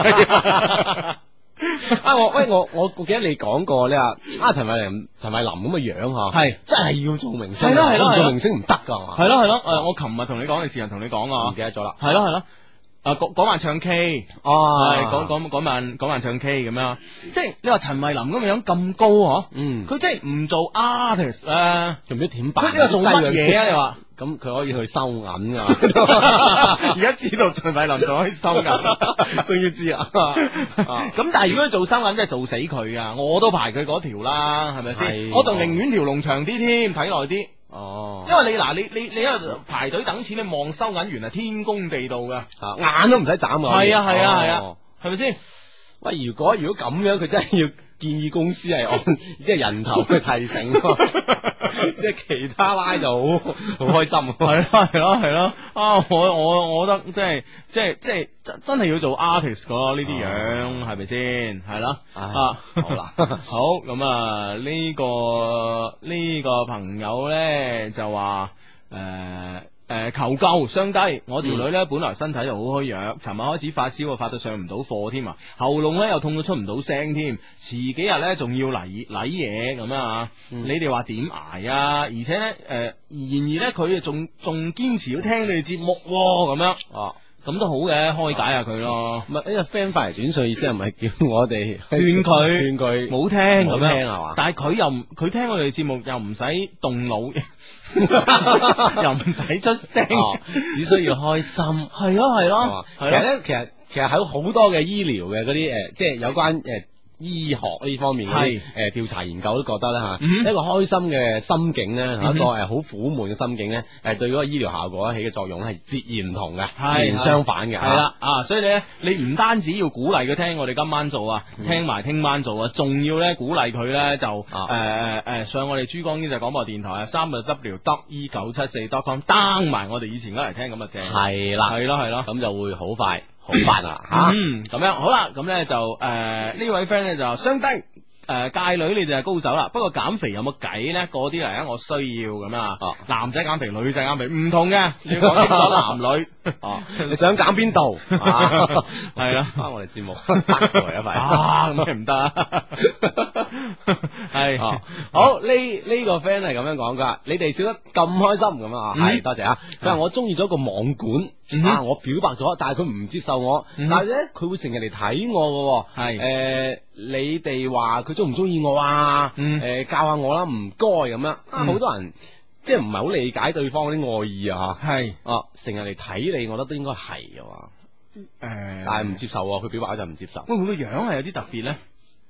啊我喂我我我記得你講過你話啊陳慧琳陳慧琳咁嘅樣嗬，係真係要做明星，係咯係咯，做明星唔得噶嘛， 係咯係咯，誒我琴日同你講，你時日同你講啊， 唔記得咗啦， 係咯係咯，誒嗰嗰晚唱 K，哦，係嗰嗰嗰晚嗰晚唱 K 咁樣，即係你話陳慧琳咁嘅樣咁高嗬，嗯，佢即係唔做 artist 誒，做唔知點辦？佢呢個做乜嘢啊？你話？ 咁佢可以去收銀噶， 而家知道陳慧琳就可以收銀，終於知啊！咁但係如果佢做收銀，真係做死佢啊！我都排佢嗰條啦，係咪先？我仲寧願條龍長啲添，睇耐啲。哦，因為你嗱，你你你喺度排隊等錢，你望收銀員係天公地道噶， 眼都唔使眨噶。 係啊係啊係啊，係咪先？ 喂，如果如果咁樣，佢真係要建議公司係按即係人頭去提醒。即係其他拉就好好開心，係咯係咯係咯啊！我我我覺得即係即係即係真真係要做 artist 咯，呢啲樣係咪先？係咯啊！好啦，好咁啊！呢個呢個朋友咧就話誒。誒，求救，相低，我條女咧本來身體就好虛弱，尋晚開始發燒，發到上唔到課添啊，喉嚨咧又痛到出唔到聲添，遲幾日咧仲要嚟嚟嘢咁啊！嗯、你哋話點挨啊？而且咧，誒、呃，然而咧佢仲仲堅持要聽你哋節目咁樣哦。 咁都好嘅，開解下佢咯。 唔係呢個 friend 發嚟短信意思係咪叫我哋勸佢勸佢冇聽咁樣聽係嘛？ 但係佢又唔佢聽我哋節目又唔使動腦，又唔使出聲， 哦，只需要開心。 係咯係咯， 其實咧，其實其實喺好多嘅醫療嘅嗰啲誒，即係有關誒。呃醫學呢方面嘅誒調查研究都覺得咧吓，嗯、一個開心嘅心境咧，嗯、一個誒好苦悶嘅心境咧，誒對嗰個醫療效果起嘅作用係截然唔同嘅，截然相反嘅。係啦啊，所以咧，你唔單止要鼓勵佢聽我哋今晚做啊，嗯、聽埋聽晚做啊，仲要咧鼓勵佢咧就誒誒誒上我哋珠江經濟廣播電台啊，三個 W dot E 九七四 dot com down 埋我哋以前嗰嚟聽咁啊正。係啦，係咯係咯，咁就會好快。好辦啊吓，嗯，咁樣好啦，咁咧就誒、呃、呢位 friend 咧就相低誒界女你就係高手啦，不過減肥有冇計咧？嗰啲嚟啊，我需要咁啊，哦、男仔減肥，女仔減肥唔同嘅，你要講清楚男女哦， 你想減邊度？ 係啦， 翻我哋節目嚟一塊啊，咁咪唔得啊，係、 哦、好呢呢、呢個 friend 係咁樣講噶，你哋笑得咁開心咁啊，係、嗯、多謝啊，佢話我中意咗個網管。嗯、啊！我表白咗，但係佢唔接受我，嗯、但係咧佢會成日嚟睇我嘅，係誒、呃，你哋話佢中唔中意我啊？誒、嗯呃，教下我啦，唔該咁樣。啊，好、嗯、多人即係唔係好理解對方嗰啲愛意啊，吓係哦，成日嚟睇你，我覺得都應該係嘅嘛。誒、呃，但係唔接受，佢表白就唔接受。 會唔會個樣係有啲特別咧？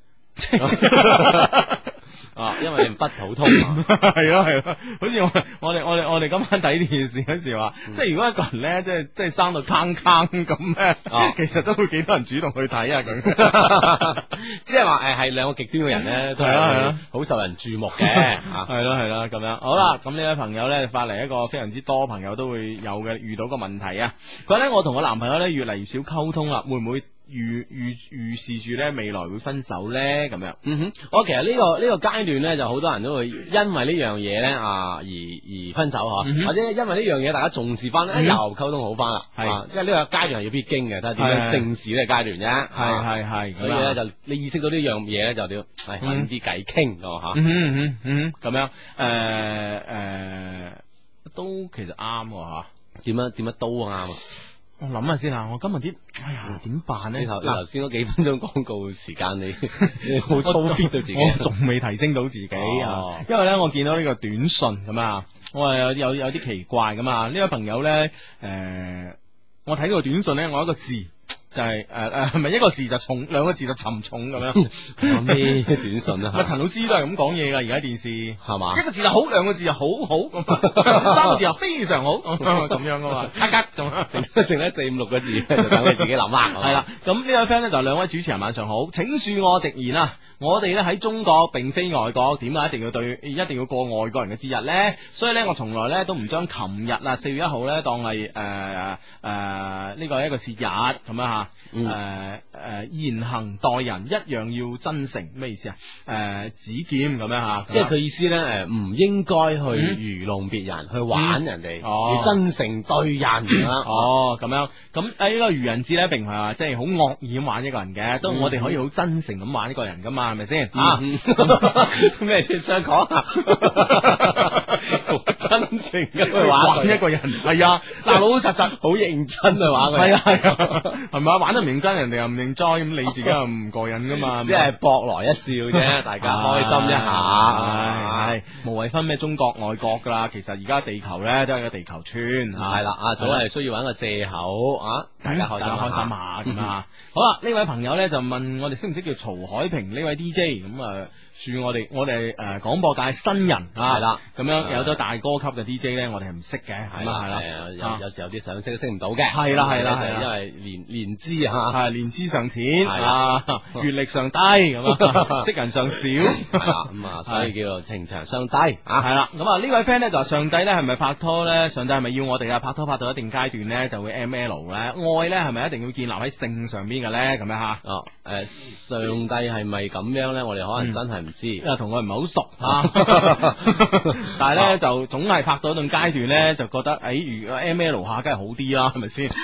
啊，因為你唔不普通啊， 係咯係咯，好似我我哋我哋我哋今晚睇電視嗰時話，嗯、即係如果一個人咧，即係即係生到坑坑咁咧，啊、其實都會幾多人主動去睇啊咁， 即係話誒係兩個極端嘅人咧，都係好受人注目嘅， 係咯係咯咁樣。好啦，咁呢位朋友咧發嚟一個非常之多朋友都會有嘅遇到個問題啊，佢話咧我同我男朋友咧越嚟越少溝通啦，會唔會？預預預示住咧未來會分手咧咁樣， 嗯哼，我其實呢個呢個階段咧就好多人都會因為呢樣嘢咧啊而而分手嗬，嗯、或者因為呢樣嘢大家重視翻咧、嗯、又溝通好翻啦，係、啊，因為呢個階段係要必經嘅，睇下點樣正視呢個階段啫，係係係，所以咧就你意識到呢樣嘢咧就要係揾啲偈傾㗎吓， 嗯嗯嗯咁樣，誒、呃、誒、呃、都其實啱吓， 點樣點樣都啱啊。 我諗下先啦，我今日啲，哎呀，點辦咧？ 你頭頭先嗰幾分鐘廣告時間，你你好操逼到自己， 我仲未提升到自己啊！哦、因為咧，我見到呢個短信咁啊，我係有有有啲奇怪咁啊！呢位朋友咧，誒、呃，我睇個短信咧，我有一個字就係誒誒，係咪一個字就重，兩個字就沉重咁樣？ 咩短信啊？ 阿陳老師都係咁講嘢噶，而家電視係嘛？ 吧一個字就好，兩個字就好好，三個字又非常好，咁樣噶嘛？咔咔咁， 剩剩咧四五六個字，就等你自己諗啦。 係啦，咁呢位 friend 咧就兩位主持人晚上好，請恕我直言啊！我哋咧喺中國並非外國，點解一定要對一定要過外國人嘅節日咧？所以咧，我從來咧都唔將琴日啊四月一號咧當係誒誒呢個一個節日咁樣吓。誒誒、呃呃，言行待人一樣要真誠，咩意思啊？誒、呃，指劍咁樣吓， 即係佢意思咧，誒，唔應該去愚弄別人，嗯、去玩人哋，哦、要真誠對人啊！ 哦，咁樣，咁誒呢個愚人節咧，並唔係話即係好惡意咁玩一個人嘅，都、嗯、我哋可以好真誠咁玩一個人噶嘛，係咪先？啊，咩先想講啊？好真誠咁去玩一個人，係啊，嗱，老老實實，好認真去玩佢，係啊係啊，係咪啊？玩得唔認真，人哋又唔認栽，咁你自己又唔過癮噶嘛？ 只係博來一笑啫，大家開心一下， 係無謂分咩中國外國噶啦。其實而家地球咧都係個地球村， 係啦，啊，總係需要揾個借口啊，大家開心開心下咁啊。好啦，呢位朋友咧就問我哋識唔識叫曹海平呢位 D J 咁啊？恕我哋我哋誒廣播界新人啊，係啦，咁樣有咗大哥級嘅 D J 咧，我哋係唔識嘅，係啦係啦， 有有時有啲想識都識唔到嘅， 係啦係啦係啦， 因為年年資啊， 係年資尚淺，啊，閱歷尚低咁啊，識人尚少，係啦，咁啊，所以叫做情長相低啊，係啦，咁啊呢位 friend 咧就話上帝咧係咪拍拖咧？上帝係咪要我哋啊拍拖拍到一定階段咧就會 M L 咧？愛咧係咪一定要建立喺性上邊嘅咧？咁樣吓，哦，誒，上帝係咪咁樣咧？我哋可能真係唔知，因為同我唔係好熟啊，但係咧就總係拍到一段階段咧，就覺得誒，如果 M L 下，梗係好啲啦，係咪先？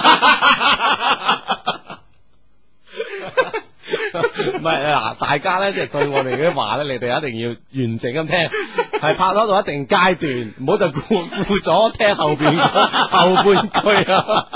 唔係嗱，大家咧即係對我哋嗰啲話咧，你哋一定要完整咁聽，係拍拖到一定階段，唔好就顧顧咗聽後邊後半句啊。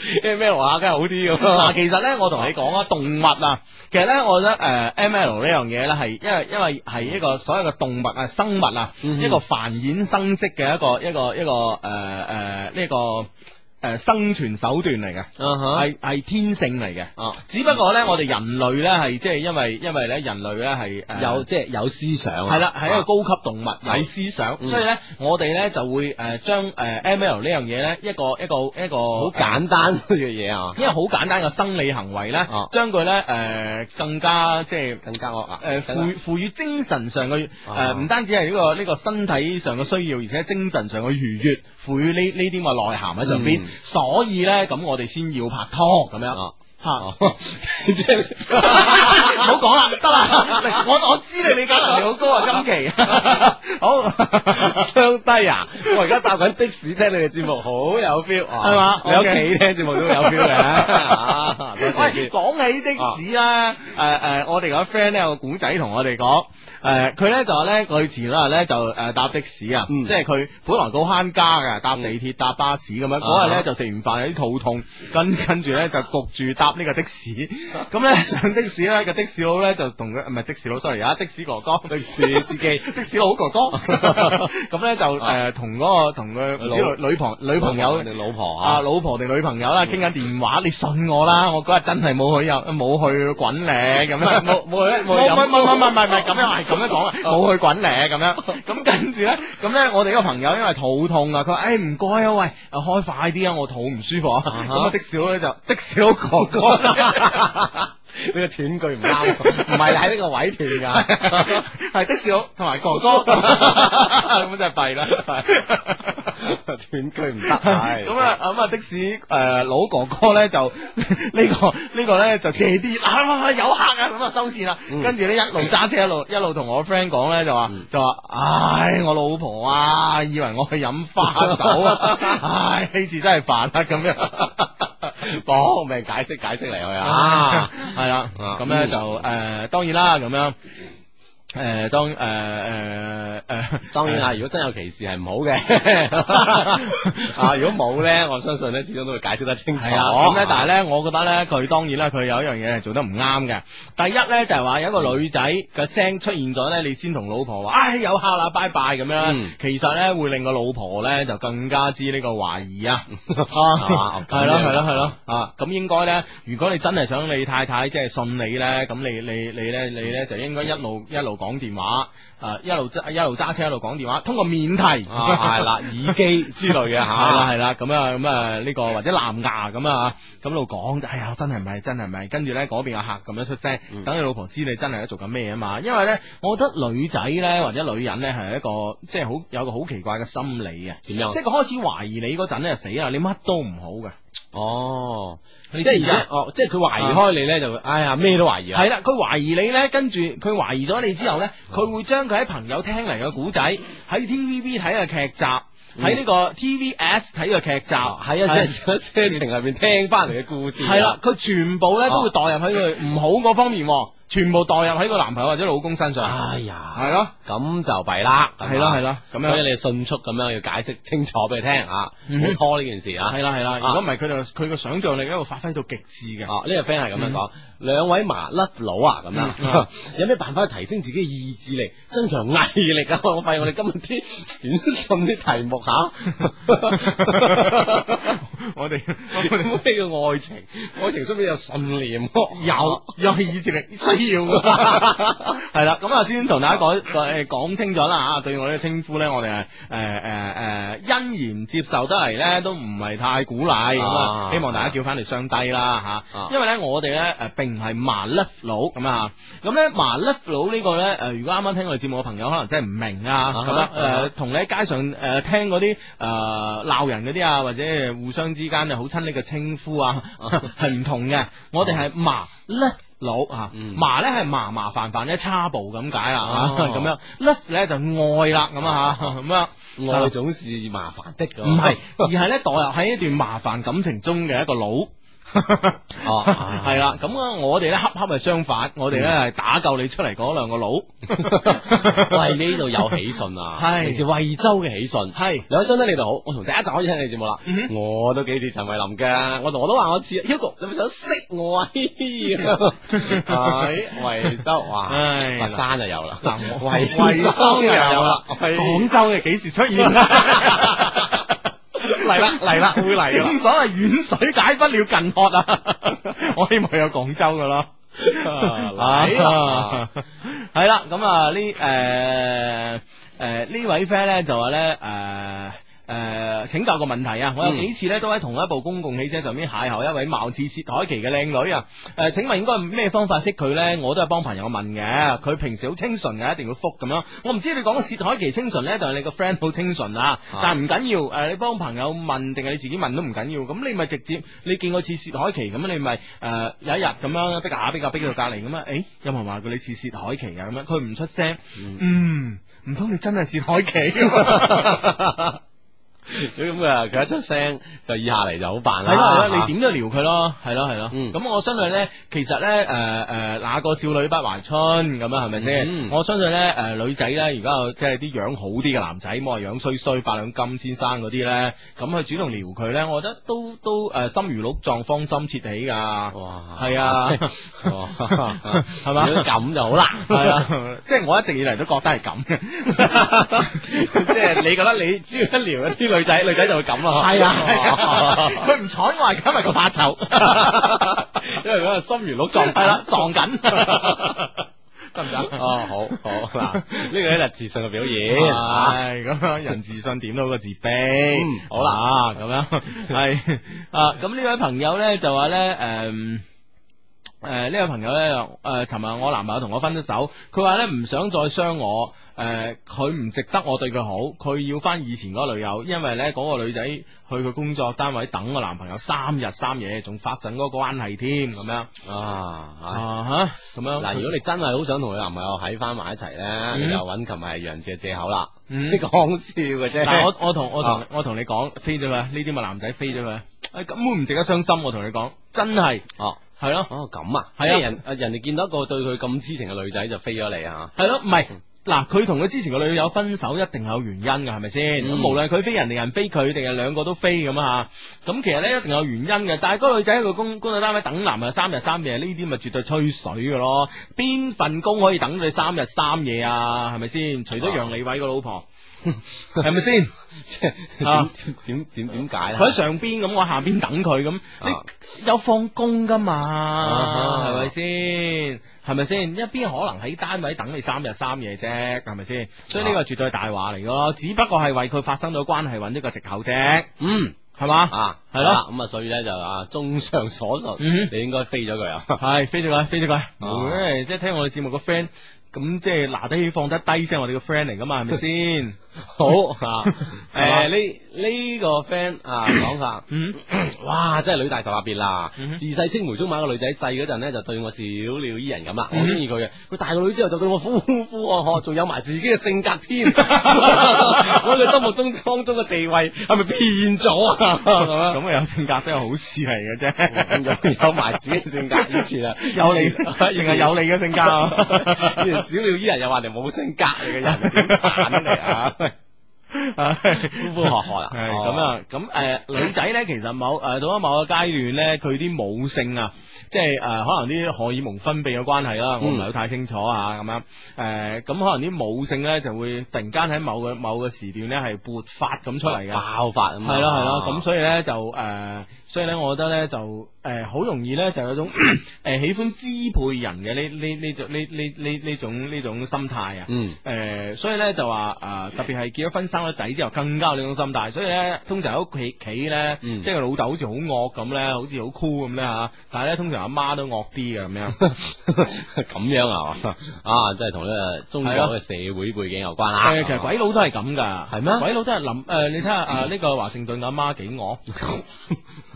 M L 啊，梗係好啲咁。 嗱，其實咧，我同你講啊，動物啊，其實咧，我覺得誒、呃、M L 呢樣嘢咧，係因為因為係一個所有嘅動物啊、生物啊，嗯、一個繁衍生息嘅一個一個一個誒誒呢個。誒、呃，生存手段嚟嘅，係係、uh-huh. 天性嚟嘅，哦、uh-huh. 只不過咧，我哋人類咧係即係因為因為咧人類咧係誒有即係、就是、有思想，係啦， 係一個高級動物，有、uh-huh. 思想，嗯、所以咧我哋咧就會誒將誒 M L 呢樣嘢咧一個一個一個好簡單嘅嘢啊， 因為好簡單嘅生理行為咧，將佢咧誒更加即係更加誒賦賦予精神上嘅誒，唔、呃、單止係呢、這個呢、這個身體上嘅需要，而且精神上嘅愉悅，賦予呢呢啲咁嘅內涵喺上邊。嗯所以咧，咁我哋先要拍拖咁樣吓，即係唔好講啦，得啦，我我知你理解能力好高啊，今期好相低啊！我而家搭緊的士聽你哋節目，好有 feel 啊，係嘛？你屋企聽節目都有 feel 嘅。 喂，講起的士啦，誒誒，我哋個 friend 咧有個古仔同我哋講。誒，佢咧、呃、就話咧，佢前兩日咧就誒搭的士啊，嗯、即係佢本來好慳家嘅，搭地鐵搭巴士咁樣，嗰日咧就食完飯有啲肚痛，跟跟住咧就焗住搭呢個的士，咁咧上的士咧個的士佬咧就同佢唔係的士佬 sorry 啊，的士哥哥，的士司機，的士佬哥哥，咁咧就誒同嗰個同佢女女朋女朋友定老婆啊， 老婆定女朋友啦，傾緊電話，你信我啦，我嗰日真係冇去有冇去滾咧，咁樣冇冇去冇飲，唔唔唔唔唔唔咁樣係。咁樣講啊，冇去滾咧咁樣，咁跟住咧，咁咧我哋個朋友因為肚痛啊，佢話誒唔該啊，喂，開快啲啊，我肚唔舒服啊，咁、uh-huh. 啊的士佬咧就的士佬哥哥， 呢個斷句唔啱，唔係喺呢個位斷噶， 係的士佬同埋哥哥，咁真係弊啦， 斷句唔得，係咁啊咁啊的士誒、呃、老哥哥咧就、這個這個、呢個呢個咧就借啲啊有客啊咁啊收線啦，嗯、跟住咧一路揸車一路一路同我 friend 講咧就話、嗯、就話唉我老婆啊以為我去飲花酒啊，唉呢次真係煩啊咁樣， 講命解釋解釋嚟去啊， 係啦咁咧就誒、呃、當然啦咁樣。誒、呃，當誒誒誒， 當然啦，如果真有其事係唔好嘅，啊，如果冇咧，我相信咧，始終都會解釋得清楚。係啊， 咁咧，但係咧，我覺得咧，佢當然啦，佢有一樣嘢係做得唔啱嘅。第一咧就係、是、話有一個女仔嘅聲出現咗咧，你先同老婆話，唉、哎，有客啦，拜拜咁樣。嗯、其實咧會令個老婆咧就更加之呢個懷疑啊。係咯係咯係咯啊！咁應該咧，如果你真係想你太太即係信你咧，咁你你你咧你咧就應該一路一路。講電話，誒、呃，一路揸一路揸車一路講電話，通過免提，係啦、啊，耳機之類嘅吓，係啦係啦，咁啊咁啊呢個或者藍牙咁啊，咁路講，哎呀真係唔係真係唔係，跟住咧嗰邊嘅客咁樣出聲，等、嗯、你老婆知你真係喺做緊咩啊嘛，因為咧，我覺得女仔咧或者女人咧係一個即係好有個好奇怪嘅心理嘅，點樣？即係佢開始懷疑你嗰陣咧就死啦，你乜都唔好嘅。哦，即係而家，哦，即係佢懷疑開你咧，就哎呀咩都懷疑啊。係啦，佢懷疑你咧，跟住佢懷疑咗你之後咧，佢會將佢喺朋友聽嚟嘅古仔，喺 T V B 睇嘅劇集，喺、嗯、呢個 T V S 睇嘅劇集，喺、嗯、一些車程入邊聽翻嚟嘅故事，係啦，佢全部咧都會代入喺佢唔好嗰方面。全部代入喺個男朋友或者老公身上，哎呀，係咯，咁就弊啦，係咯係咯，咁樣，所以你迅速咁樣要解釋清楚俾佢聽啊，唔好拖呢件事啊，係啦係啦，如果唔係佢就佢個想象力咧會發揮到極致嘅。哦，呢個 friend 係咁樣講，兩位麻甩佬啊，咁樣，有咩辦法去提升自己嘅意志力，增強毅力啊？我發現我哋今日啲短信啲題目吓，我哋我哋咩叫愛情？愛情需唔需要有信念？有有意志力。要係啦，咁啊先同大家講誒講清楚啦吓，對我呢個稱呼咧，我哋係誒誒誒欣然接受得嚟咧，都唔係太鼓勵咁啊，希望大家叫翻嚟雙低啦吓，因為咧我哋咧誒並唔係麻甩佬咁啊，咁咧麻甩佬呢個咧誒，如果啱啱聽我哋節目嘅朋友可能真係唔明啊，咁樣誒同你喺街上誒聽嗰啲誒鬧人嗰啲啊，或者互相之間就好親昵嘅稱呼啊，係唔同嘅，我哋係麻甩佬啊，麻咧係麻麻煩煩咧差步咁解啊，咁樣甩咧就愛啦咁啊吓，咁樣愛總是麻煩的，唔係，而係咧代入喺一段麻煩感情中嘅一個佬。 哦， 係啦，咁啊，我哋咧恰恰係相反，我哋咧係打救你出嚟嗰兩個佬。 喂，呢度有喜訊啊， 係嚟自惠州嘅喜訊， 係兩位兄弟你哋好，我從第一集開始聽你節目啦，我都幾似陳慧琳嘅，我同我都話我似 Hugo，你咪想識我啊？喺惠州，哇，佛山就有啦，惠惠州又有啦， 廣州嘅幾時出現？嚟啦嚟啦，會嚟啦！正所謂遠水解不了近渴啊！我希望有廣州噶咯。係啦，係啦，咁啊呢誒誒呢位 friend 咧就話咧誒。誒、呃，請教個問題啊！我有幾次咧都喺同一部公共汽車上面邂逅一位貌似薛凱琪嘅靚女啊！誒、呃，請問應該咩方法識佢咧？我都係幫朋友問嘅，佢平時好清純嘅，一定要覆咁樣。我唔知你講嘅薛凱琪清純咧，定係你個 friend 好清純啊？但係唔緊要，誒、呃，你幫朋友問定係你自己問都唔緊要。咁你咪直接你見我似薛凱琪咁，你咪誒、呃、有一日咁樣逼下逼下逼到隔籬咁啊？誒，有冇人話過你似薛凱琪啊？咁樣佢唔出聲，嗯，唔通你真係薛凱琪？ 咁啊，佢一出聲就以下嚟就好辦啦。 係咯係咯，你點都撩佢咯，係咯係咯。咁、嗯、我相信咧，其實咧，誒、呃、誒，哪個少女不懷春咁啊？係咪先？嗯、我相信咧，誒、呃、女仔咧，而家有即係啲樣好啲嘅男仔，冇話樣衰衰八兩金先生嗰啲咧，咁去主動撩佢咧，我覺得都都誒心如鹿撞，芳心切起噶。哇！係啊，係嘛？ 咁就好啦。 係啊，即係我一直以嚟都覺得係咁嘅。 即係你覺得你只要一撩一啲女仔，女仔就會咁咯。 係啊，佢唔睬我係因為佢怕醜， 因為嗰個心如鹿撞， 係啦，撞緊，得唔得？ 哦，好好嗱，呢個咧就自信嘅表現。 係咁樣，人自信點都好過自卑。好啦，咁樣係啊，咁呢位朋友咧就話咧，誒。誒，呢、呃、位朋友咧，誒、呃，尋日我男朋友同我分咗手，佢話咧唔想再傷我，誒、呃，佢唔值得我對佢好，佢要翻以前嗰個女友，因為咧嗰、那個女仔去佢工作單位等我男朋友三日三夜，仲發展嗰個關係添，咁樣啊啊吓，咁樣。嗱，如果你真係好想同佢男朋友喺翻埋一齊咧，嗯、你就揾琴日楊志嘅借口啦，你講笑嘅啫。但係我我同我同、啊、我同你講，飛咗佢，呢啲咪男仔飛咗佢，誒，根本唔值得傷心，我同你講，真係哦。係咯，哦咁啊，係啊，人誒人哋見到一個對佢咁痴情嘅女仔就飛咗你啊，係咯，唔係嗱，佢同佢之前個女友分手一定有原因㗎，係咪先？咁、嗯、無論佢飛人定人飛佢，定係兩個都飛咁啊，咁其實咧一定有原因嘅。但係嗰個女仔喺個工工作單位等男朋友三日三夜，呢啲咪絕對吹水㗎咯。邊份工可以等你三日三夜啊？係咪先？除咗楊利偉個老婆。係咪先？點點點點解咧？佢喺上邊咁，我下邊等佢咁，你有放工噶嘛？係咪先？係咪先？一邊可能喺單位等你三日三夜啫，係咪先？所以呢個絕對係大話嚟咯，只不過係為佢發生咗關係揾一個藉口啫。嗯，係嘛？啊，係咯。咁啊，所以咧就啊，綜上所述，你應該飛咗佢啊。係飛咗佢，飛咗佢。誒，即係聽我哋節目個 friend。咁即係拿得起放得低先，我哋個 friend 嚟噶嘛，係咪先？好啊，誒呢呢個 friend 啊講下，嗯，哇，真係女大十八變啦！自細青梅竹馬個女仔，細嗰陣咧就對我小鳥依人咁啦，我中意佢嘅。佢大個女之後就對我呼呼喝喝，仲有埋自己嘅性格添。我喺佢心目中當中嘅地位係咪變咗啊？咁啊有性格都係好事嚟嘅啫，有有埋自己嘅性格，以前啊有你，淨係有你嘅性格。小鳥依人又話你冇性格嚟嘅人，點辦嚟啊？呼呼喝喝啊！係咁啊，咁誒，女仔咧其實某誒到咗某個階段咧，佢啲母性啊，即係誒可能啲荷爾蒙分泌嘅關係啦，我唔係好太清楚啊，咁樣誒，咁可能啲母性咧就會突然間喺某個某個時段咧係勃發咁出嚟嘅，爆發咁，係咯係咯，咁所以咧就誒，所以咧我覺得咧就誒好容易咧就有種誒喜歡支配人嘅呢呢呢種呢呢呢呢種呢種心態啊，嗯，誒，所以咧就話誒特別係結咗婚生咗仔之後更加有呢種心態，所以咧通常喺屋企企咧，即係個老豆好似好惡咁咧，好似好酷咁咧吓，但係咧通常阿媽都惡啲嘅咁樣，咁樣啊，啊，即係同呢個中國嘅社會背景有關啦。誒，其實鬼佬都係咁噶，係咩？鬼佬都係諗誒，你睇下誒呢個華盛頓阿媽幾惡。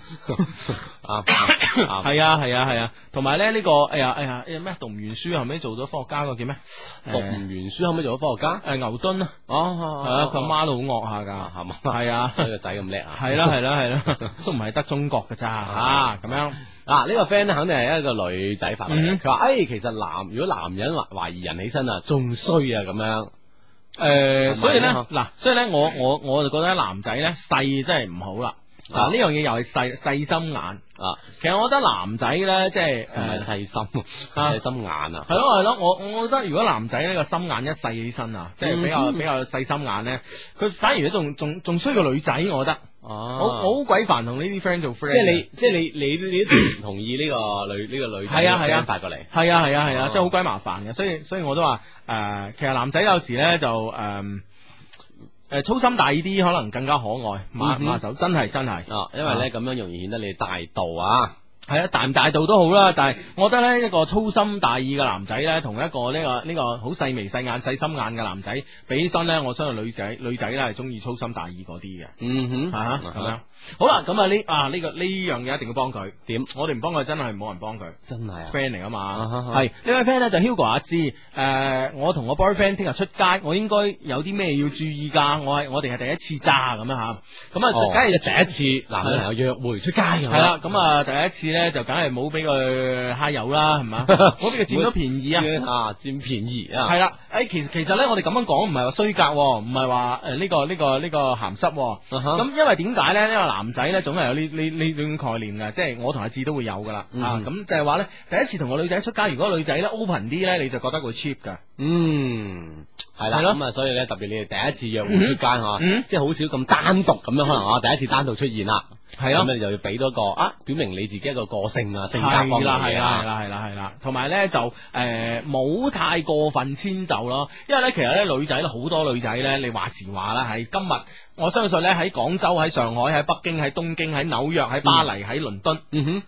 啊，係啊係啊係啊，同埋咧呢個哎呀哎呀哎呀咩讀唔完書後尾做咗科學家個叫咩？ 讀唔完書後尾做咗科學家？ 誒牛頓啊，哦係啊，佢阿媽都好惡下噶，係嘛？係啊， 所以個仔咁叻啊！ 係啦係啦係啦，都唔係得中國噶咋吓咁樣。 嗱呢個 friend 咧肯定係一個女仔發嚟，佢話誒其實男如果男人懷懷疑人起身啊，仲衰啊咁樣。誒， 所以咧嗱，所以咧我我我就覺得男仔咧細真係唔好啦。嗱呢樣嘢又係細細心眼啊！其實我覺得男仔咧即係唔係細心，細心眼啊！ 係咯係咯，我我覺得如果男仔呢個心眼一細起身啊，即係比較比較細心眼咧，佢反而仲仲仲衰過女仔，我覺得。哦，我我好鬼煩同呢啲 friend 做 friend。 即係你即係你你你都唔同意呢個女呢個女仔係啊係啊發過嚟。 係啊係啊係啊，即係好鬼麻煩嘅，所以所以我都話誒，其實男仔有時咧就誒。誒，粗心大意啲可能更加可愛，馬馬手真係真係， 啊，因為咧咁樣容易顯得你大度啊。 係啊，大唔大度都好啦，但係我覺得咧一個粗心大意嘅男仔咧，同一個呢、呢個呢、呢個好細眉細眼細心眼嘅男仔比起身咧，我相信女仔女仔咧係中意粗心大意嗰啲嘅。 嗯哼， 吓咁樣。好啦，咁啊呢啊呢個呢樣嘢一定要幫佢。點？我哋唔幫佢真係冇人幫佢。真係啊 friend 嚟啊嘛。係呢位 friend 咧就 Hugo 阿芝，誒、呃，我同我 boyfriend 聽日出街，我應該有啲咩要注意噶？我係我哋係第一次咋咁樣吓。咁啊，梗係、哦、第一次男女朋友約會出街。係啦，咁啊第一次咧就梗係冇俾佢揩油啦，係嘛？冇俾佢佔咗便宜啊！ 啊，佔便宜啊！ 係啦，誒，其實其實咧，我哋咁樣講唔係話衰格，唔係話誒呢個呢個呢個鹹濕。咁因為點解咧？因為男仔咧總係有呢呢呢種概念嘅，即係我同阿志都會有噶啦。啊，咁就係話咧，第一次同個女仔出街，如果女仔咧 open 啲咧，你就覺得佢 cheap 噶。 嗯，係啦，咁啊，所以咧，特別你哋第一次約會出街吓，即係好少咁單獨咁樣，可能啊，第一次單獨出現啦。係咯，咁你就要俾多個啊，表明你自己一個個性啊，性格方面嘅嘢啦，係啦，係啦，係啦，同埋咧就誒冇太過分遷就咯，因為咧其實咧女仔咧好多女仔咧，你話時話啦，係今日我相信咧喺廣州、喺上海、喺北京、喺東京、喺紐約、喺巴黎、喺倫敦，嗯哼。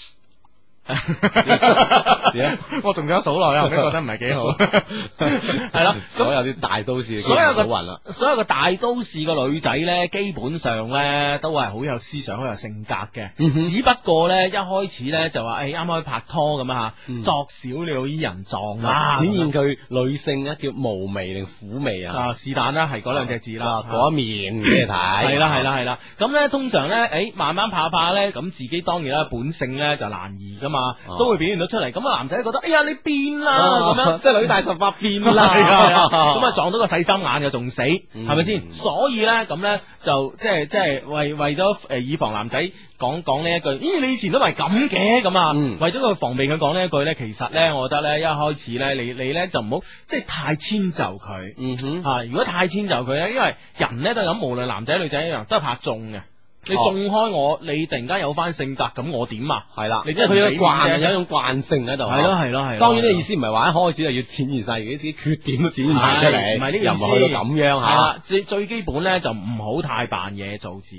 我仲想數落，我覺得唔係幾好。係啦， 所有啲大都市， 所有嘅所有嘅大都市嘅女仔咧，基本上咧都係好有思想、好有性格嘅。嗯、只不過咧一開始咧就話，誒啱開始拍拖咁啊吓，作小鳥依人狀啊， 展現佢女性咧叫無味定苦味啊？ 啊，是但啦，係嗰兩隻字啦， 嗰一面俾你睇。 係啦，係啦，係啦。咁咧通常咧，誒慢慢拍拍咧，咁自己當然啦，本性咧就難移噶嘛。都會表現到出嚟，咁啊男仔覺得，哎呀你變啦，咁樣即係女大十八變啦， 咁啊撞到個細心眼嘅仲死，係咪先？所以咧咁咧就即係即係為為咗誒以防男仔講講呢一句，咦你以前都係咁嘅咁啊，為咗佢防備佢講呢一句咧，其實咧我覺得咧一開始咧你你咧就唔好即係太遷就佢，嗯哼啊如果太遷就佢咧，因為人咧都係咁，無論男仔女仔一樣都係拍中嘅。你縱開我，你突然間有翻性格，咁我點啊？係啦，你即係佢有慣，有一種慣性喺度。係咯係咯係。當然呢意思唔係話一開始就要展現晒自己缺點都展現埋出嚟，唔係呢個意思。又唔係去到咁樣吓。係啦，最最基本咧就唔好太扮嘢做自己。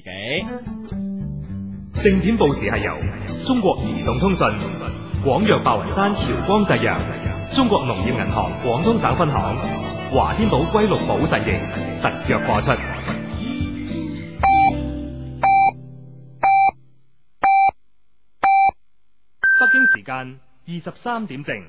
正點報時係由中國移動通信、廣藥白雲山僑光製藥、中國農業銀行廣東省分行、華天寶歸綠寶實營特約播出。北京時間二十三點正。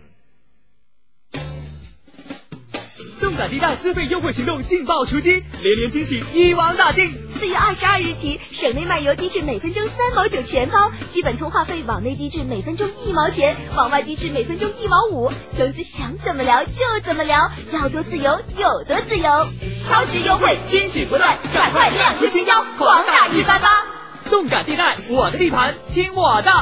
動感地帶資費優惠行動勁爆出擊，連連驚喜一網打盡。 四月二十二日起，省內漫遊低至每分鐘三毛九全包，基本通話費往內低至每分鐘一毛錢，往外低至每分鐘一毛五。總之想怎麼聊就怎麼聊，要多自由有多自由。超值優惠，驚喜不斷，趕快亮出新招，狂打一八八。 動感地帶，我的地盤，聽我的。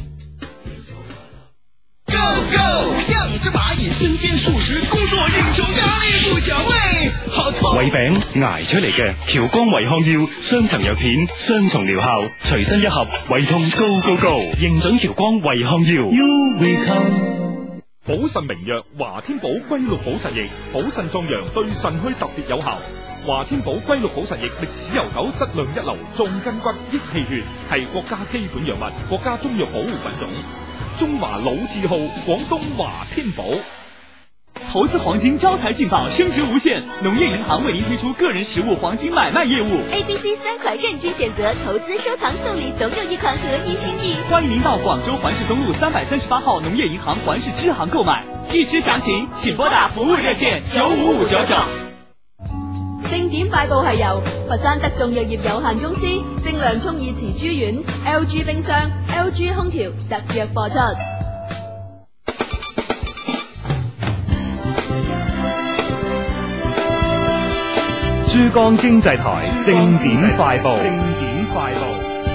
Go Go， 像只螞蟻，身兼數職，工作應酬壓力不小，喂，好痛！ 胃餅捱出嚟嘅喬光胃康藥，雙層藥片，雙重療效，隨身一盒，胃痛 Go Go Go， 認準喬光胃康藥。You will come。 補腎名藥華天寶龜鹿補腎液，補腎壯陽，對腎虛特別有效。華天寶龜鹿補腎液歷史悠久，質量一流，壯筋骨，益氣血，係國家基本藥物，國家中藥保護品種。中華老字號廣東華天寶。 投資黃金招財進寶，升值無限。農業銀行為您推出個人實物黃金買賣業務。 A、B、C 三款任君選擇，投資收藏送禮總有一款合宜心意。 歡迎您到廣州環市東路三百三十八號農業銀行環市支行購買。預知詳情，請撥打服務熱線九五五九九。 正點快報係由佛山德眾藥業有限公司、正良聰耳慈珠丸、L G 冰箱、L G 空調特約播出。 珠江經濟台正點快報。正點快報。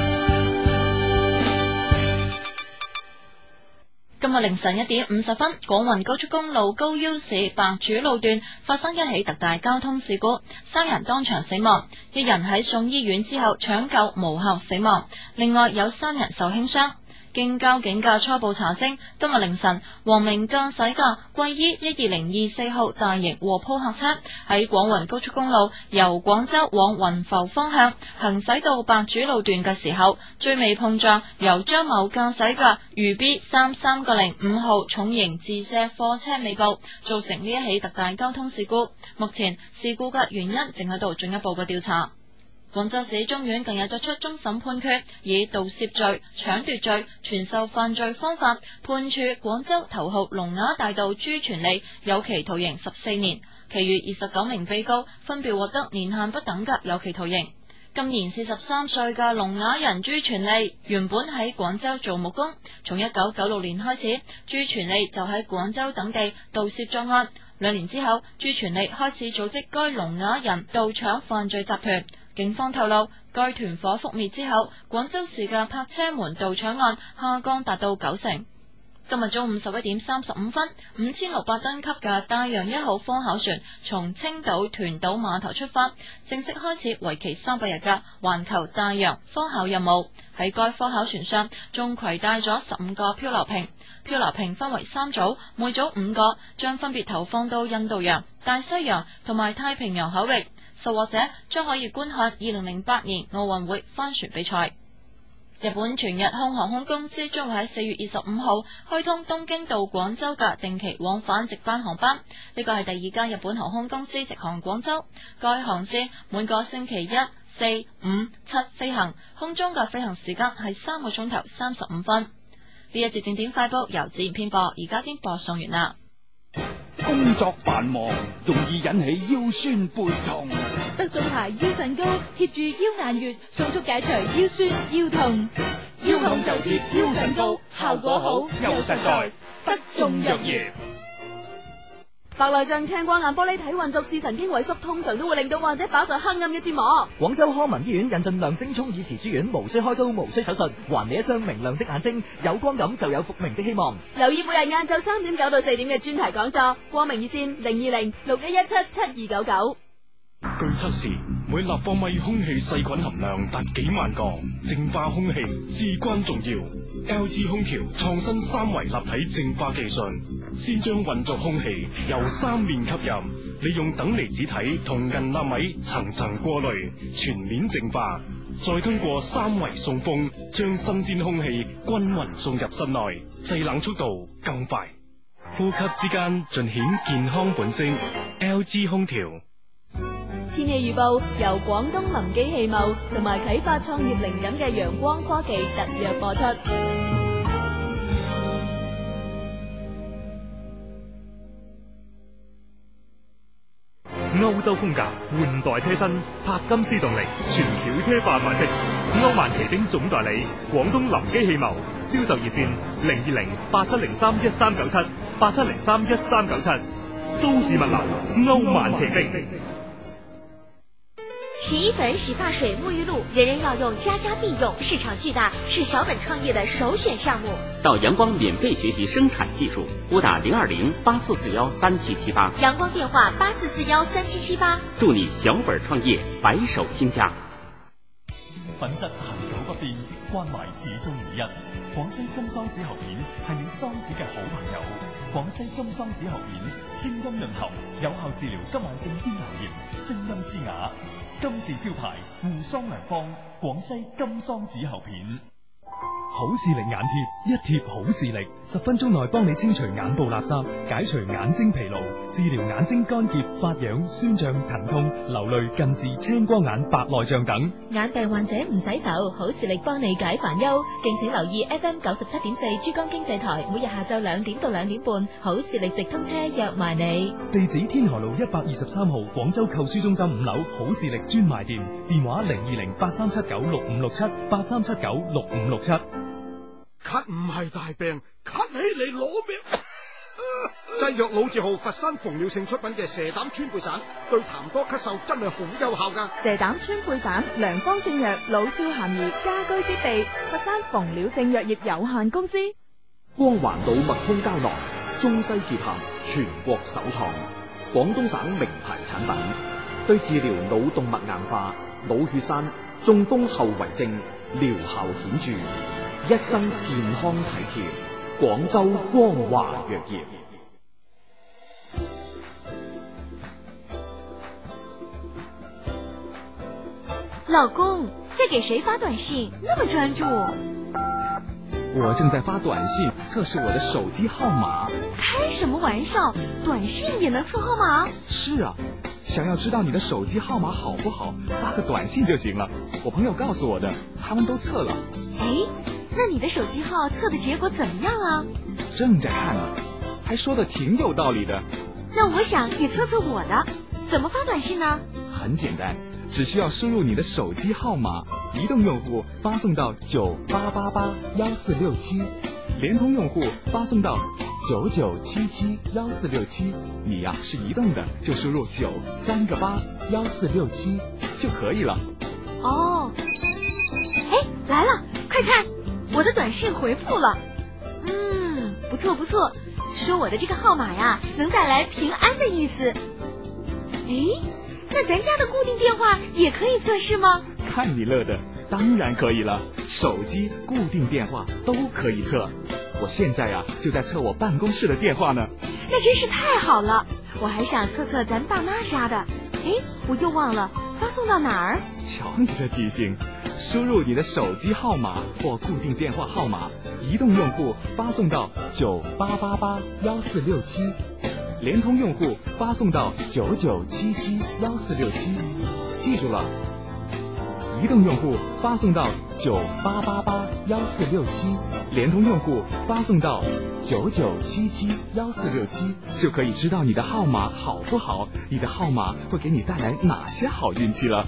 今日凌晨一點五十分，廣雲高速公路高腰市白主路段發生一起特大交通事故，三人當場死亡，一人喺送醫院之後搶救無效死亡，另外有三人受輕傷。經交警嘅初步查證，今日凌晨，黃明駕駛嘅貴依一二零二四號大型貨鋪客車喺廣雲高速公路由廣州往雲浮方向行駛到白主路段嘅時候，追尾碰撞由張某駕駛嘅渝 B 三三個零五號重型自卸貨車尾部，造成呢一起特大交通事故。目前事故嘅原因正喺度進一步嘅調查。廣州市中院近日作出終審判決，以盜竊罪、搶奪罪、傳授犯罪方法判處廣州頭號龍雅大盜朱全利有期徒刑十四年，其餘二十九名被告分別獲得年限不等嘅有期徒刑。今年四十三歲嘅聾啞人朱全利原本喺廣州做木工，從一九九六年開始，朱全利就喺廣州等地盜竊作案。兩年之後，朱全利開始組織該聾啞人盜搶犯罪集團。警方透露，該團伙覆滅之後，廣州市嘅泊車門盜搶案下降達到九成。今日中午十一點三十五分，五千六百噸級嘅大洋一號科考船從青島團島碼頭出發，正式開始為期三百日嘅環球大洋科考任務。喺該科考船上，仲攜帶咗十五個漂流瓶，漂流瓶分為三組，每組五個，將分別投放到印度洋、大西洋同埋太平洋海域。受獲者將可以觀看二零零八年奧運會帆船比賽。日本全日空航空公司將會喺四月二十五號開通東京到廣州嘅定期往返直班航班，呢個係第二間日本航空公司直航廣州。該航線每個星期一、四、五、七飛行，空中嘅飛行時間係三個鐘頭三十五分。呢一節正點快報由自然編播，而家已經播送完啦。 工作繁忙，容易引起腰酸背痛。 德眾牌腰腎膏貼住腰眼穴，迅速解除腰酸腰痛。 腰痛就貼腰腎膏，效果好又實在。德眾藥業。 白內障、青光眼、玻璃體混濁、視神經萎縮，通常都會令到患者飽受黑暗嘅折磨。 廣州康民醫院引進亮晶聰耳慈珠丸，無需開刀，無需手術，還你一雙明亮的眼睛。有光感就有復明的希望。 留意每日晏晝三點九到四點嘅專題講座，光明熱線零二零六一一七七二九九。 據測試，每立方米空氣細菌含量達幾萬個，淨化空氣至關重要。L G 空調創新三維立體淨化技術，先將混濁空氣由三面吸入，利用等離子體同銀納米層層過濾，全面淨化，再通過三維送風，將新鮮空氣均勻送入室內，製冷速度更快，呼吸之間盡顯健康本色。L G 空調。 天氣預報由廣東林基汽貿同埋啟發創業靈感嘅陽光科技特約播出。 歐洲風格換代車身，柏金斯動力全轎車化款式。歐曼奇兵總代理廣東林基汽貿，銷售熱線零二零八七零三一三九七八七零三一三九七。都市物流歐曼奇兵。 洗衣粉、洗髮水、沐浴露，人人要用，家家必用，市場巨大，是小本創業的首選項目。 到陽光免費學習生產技術，撥打零二零八四四幺三七七八。 陽光電話八四四幺三七七八。 祝你小本創業，白手興家。 品質恆久不變，關懷始終如一。廣西金桑子喉片係你桑子嘅好朋友。廣西金桑子喉片清音潤喉，有效治療急慢性咽喉炎，聲音嘶啞。金字招牌護桑良方，廣西金桑子喉片。 好視力眼貼，一貼好視力，十分鐘內幫你清除眼部垃圾，解除眼睛疲勞，治療眼睛乾澀、發癢、酸脹、疼痛、流淚、近視、青光眼、白內障等。 眼病患者唔洗愁，好視力幫你解煩憂。敬請留意 F M 九十七點四珠江經濟台，每日下晝兩點到兩點半，好視力直通車約埋你。 地址天河路一百二十三號廣州購書中心五樓好視力專賣店，電話零二零八三七九六五六七八三七九六五六七。 咳唔係大病，咳起嚟攞命。製藥老字號佛山馮了性出品嘅蛇膽川貝散，對痰多咳嗽真係好有效噶。 蛇膽川貝散，良方正藥，老少咸宜，家居必備。佛山馮了性藥業有限公司。 光環島麥通膠囊，中西結合，全國首創，廣東省名牌產品，對治療腦動脈硬化、腦血栓、中風後遺症療效顯著，一生健康體貼。廣州光華藥業。 老公，在給誰發短信？那麼專注。 我正在發短信測試我的手機號碼。 開什麼玩笑？短信也能測號碼？ 是啊，想要知道你的手機號碼好不好，發個短信就行了。我朋友告訴我的，他們都測了。 哎，那你的手機號測的結果怎麼樣啊？ 正在看呢，還說的挺有道理的。 那我想也測測我的，怎麼發短信呢？ 很簡單，只需要輸入你的手機號碼，移動用戶發送到九八八八幺四六七，聯通用戶發送到九九七七幺四六七。你呀、啊、是移動的，就輸入九三個八幺四六七就可以了。 哦，哎，來了，快看，我的短信回復了。嗯，不錯不錯，說我的這個號碼呀，能帶來平安的意思。誒，那咱家的固定電話也可以測試嗎？ 看你樂的，當然可以了，手機、固定電話都可以測。我現在呀、啊、就在測我辦公室的電話呢。 那真是太好了，我還想測測咱爸媽家的。誒，我又忘了發送到哪兒？ 瞧你的記性，輸入你的手機號碼或固定電話號碼，移動用戶發送到九八八八幺四六七，聯通用戶發送到九九七七幺四六七。記住了，移動用戶發送到九八八八幺四六七，聯通用戶發送到九九七七幺四六七，就可以知道你的號碼好不好，你的號碼會給你帶來哪些好運氣了。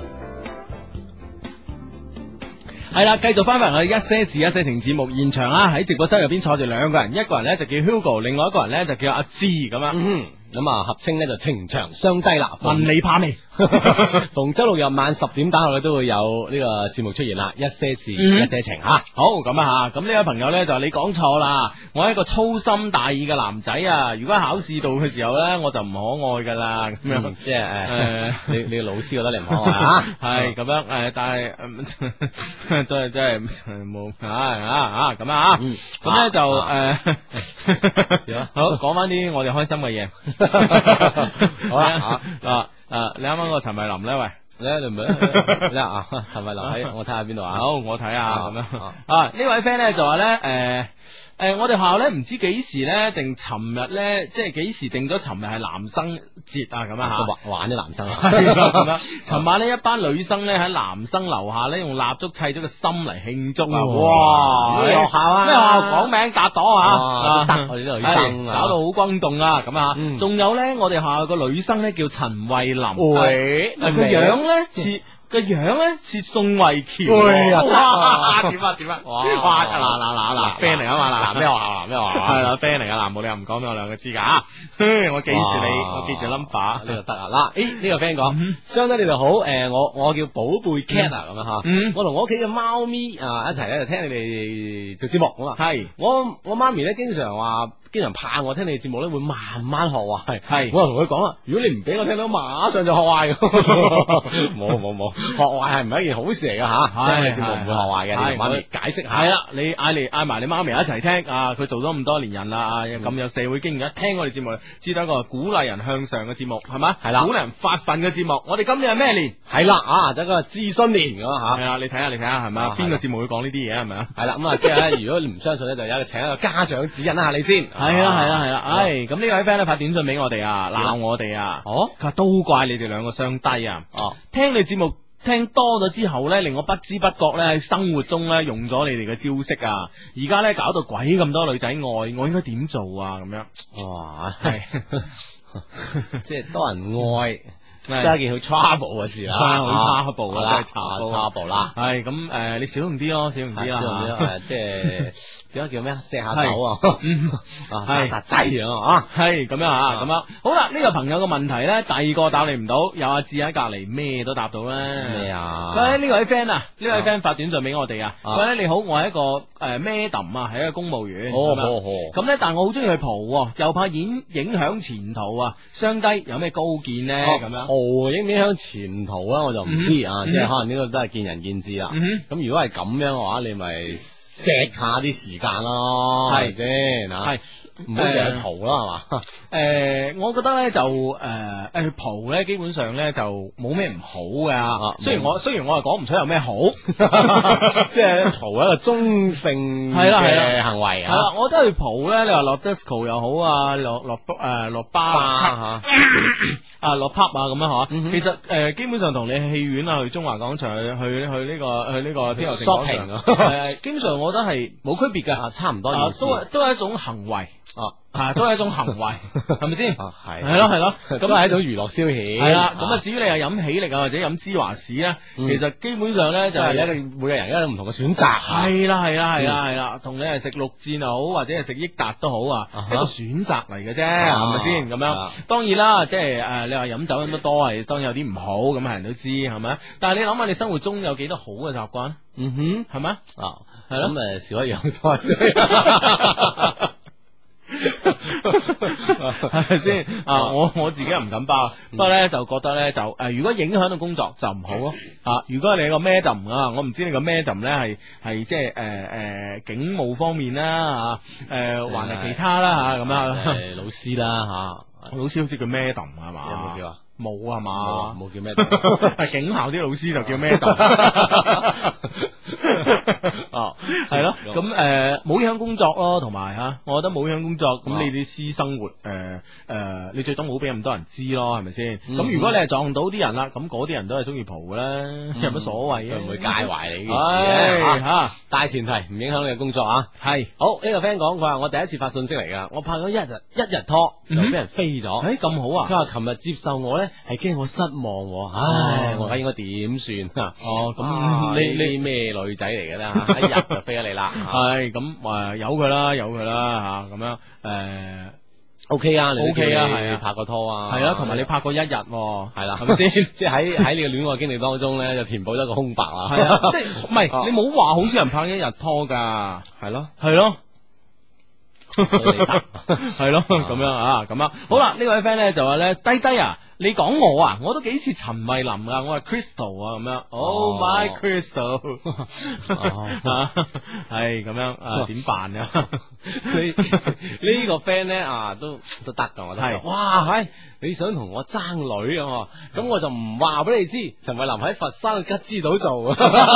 係啦，繼續翻返我哋一些事一些情節目現場啦，喺直播室入邊坐住兩個人，一個人咧就叫 Hugo， 另外一個人咧就叫阿芝咁樣。 嗯咁啊，合稱咧就情長相低啦。 問你怕未？ 逢周六日晚十點打後咧都會有呢個節目出現啦，一些事、嗯、一些情吓。 好咁啊吓，咁呢位朋友咧就話你講錯啦，我係一個粗心大意嘅男仔啊，如果喺考試度嘅時候咧，我就唔可愛噶啦，咁樣、嗯、 即係誒、呃，你你老師覺得你唔可愛啊？ 係咁樣誒，但係、呃、都係真係冇啊啊啊咁啊，咁咧就誒，好講翻啲我哋開心嘅嘢。 好啦， 啊啊！你啱啱個陳慧琳咧，喂， 咧你唔係咧啊？陳慧琳喺我睇下邊度啊？ 好，我睇下咁樣啊！呢位 friend 咧就話咧，誒。誒、呃，我哋學校咧唔知幾時咧定尋日咧，即係幾時定咗尋日係男生節啊咁樣吓， 玩玩啲男生啊， 咁樣。尋晚呢，一班女生咧喺男生樓下咧用蠟燭砌咗個心嚟慶祝啊！哇， 咩學校啊？ 咩學校講名打朵啊？ 得我哋啲女生搞到好轟動啊！咁啊，仲有咧，我哋學校個女生咧叫陳慧琳， 喂， 個樣咧似。個樣咧似宋慧喬， 哇！ 點啊點啊！哇！嗱嗱嗱嗱 friend 嚟啊嘛嗱，咩學校嗱咩學校係啦 friend 嚟噶嗱，冇理由唔講俾我兩個知噶吓，我記住你，我記住 number 呢就得啊嗱，誒呢個 friend 講，相得你哋好，誒我我叫寶貝 cat 啊咁樣吓，我同我屋企嘅貓咪啊一齊咧就聽你哋做節目咁啊，係我我媽咪咧經常話，經常怕我聽你哋節目咧會慢慢學壞，係我就同佢講啦，如果你唔俾我聽到，馬上就學壞，冇冇冇。 學壞係唔係一件好事嚟噶吓？聽節目唔會學壞嘅，你同媽咪解釋下。 係啦，你嗌嚟嗌埋你媽咪一齊聽啊！佢做咗咁多年人啦，啊咁有社會經驗，一聽我哋節目，知道一個鼓勵人向上嘅節目，係咪？係啦，鼓勵人發奮嘅節目。我哋今年係咩年？ 係啦，啊，就一個諮詢年咁吓。 係啊，你睇下，你睇下係咪？邊個節目會講呢啲嘢係咪啊？ 係啦，咁啊，即係咧，如果你唔相信咧，就有一個請一個家長指引一下你先。 係啦，係啦，係啦，唉，咁呢位 friend 咧發短信俾我哋啊，鬧我哋啊，哦，佢話都怪你哋兩個雙低啊，哦，聽你節目聽多咗之後咧，令我不知不覺咧喺生活中咧用咗你哋嘅招式啊，而家咧搞到鬼咁多女仔愛，我應該點做啊？咁樣，哇，係， 即係多人愛。都係一件好 trouble 嘅事啦， 好 trouble 啦， 真係 trouble 啦。 係咁誒，你小心啲咯，小心啲啦， 小心啲啦，即係點解叫咩？錫下手啊，啊，殺殺仔啊， 係咁樣啊，咁樣。好啦，呢個朋友嘅問題咧，第二個答你唔到，有阿志喺隔籬，咩都答到啦。 咩啊？ 佢呢位 friend 啊，呢位 friend 發短信俾我哋啊，佢咧你好，我係一個誒 madam 啊，係一個公務員。 哦哦咁咧，但係我好中意去蒲，又怕影影響前途啊，相低有咩高見咧？咁樣。 影唔影響前途啊？我就唔知啊，即係可能呢個都係見仁見智啦。咁如果係咁樣嘅話，你咪錫下啲時間咯，係咪先吓？係唔好成日蒲啦，係嘛？ 誒，我覺得咧就誒誒去蒲咧，基本上咧就冇咩唔好噶。雖然我雖然我係講唔出有咩好， 即係蒲一個中性嘅行為啊。 係啦，我覺得去蒲咧，你話落 disco 又好啊，落落誒落巴啊吓，啊落 pub 啊咁樣吓。其實誒基本上同你去戲院啊，去中華廣場去去去呢個去呢個天河城廣場，誒基本上我覺得係冇區別嘅， 差唔多意思。 都都係一種行為。哦，係都係一種行為，係咪先？ 係係咯係咯， 咁係一種娛樂消遣。 係啦，咁啊至於你係飲喜力啊或者飲芝華士咧，其實基本上咧就係一個每個人一種唔同嘅選擇。 係啦係啦係啦係啦，同你係食綠箭又好或者係食益達都好啊，一個選擇嚟嘅啫，係咪先？咁樣當然啦，即係誒你話飲酒飲得多係當然有啲唔好，咁係人都知係咪？但係你諗下你生活中有幾多好嘅習慣？ 嗯哼， 係咪？啊，係咯， 咁誒少一樣多。 係咪先啊？我我自己又唔敢包，不過咧就覺得咧就誒、呃，如果影響到工作就唔好咯啊！如果你個 madam 啊，我唔知你個 madam 咧係係即係誒誒警務方面啦吓，誒還係其他啦吓咁啊， 誒老師啦吓， 老師好似叫 madam 係嘛？ 有冇叫啊？ 冇啊嘛， 冇叫 madam， 係警校啲老師就叫 madam。哦，係咯，咁誒冇影響工作咯，同埋吓，我覺得冇影響工作，咁你啲私生活誒誒、呃，你最多冇俾咁多人知咯，係咪先？咁、嗯、如果你係撞到啲人啦，咁嗰啲人都係中意蒲噶啦，嗯、有乜所謂啊？ 唔會介懷你嘅吓，大前提唔影響你嘅工作啊。係是好呢、這個 friend 講，佢話我第一次發信息嚟噶，我拍咗一日一日拖就俾人飛咗，誒咁、 欸、好啊！ 佢話琴日接受我咧係驚我失望，唉，哦、我而家應該點算啊？哦，咁你你咩女仔嚟嘅咧？一日就飛咗你啦， 係咁誒，有佢啦，有佢啦吓，咁樣誒 ，OK 啊，你 OK 啊，係啊， 拍過拖啊， 係啊，同埋你拍過一日，係啦， 係咪先？即係喺喺你嘅戀愛經歷當中咧，就填補咗個空白啦。 係啊，即係唔係你冇話好少人拍一日拖噶， 係咯， 係咯。係咯，咁樣啊，咁啊，好啦，呢位 friend 咧就話咧，低低啊，你講我啊，我都幾似陳慧琳啊，我係 Crystal 啊，咁樣 ，Oh my Crystal，係咁樣啊，點辦啊？ 你呢個 friend 咧啊，都都得噶，我覺得，哇，係你想同我爭女啊？咁我就唔話俾你知，陳慧琳喺佛山嘅吉之島做。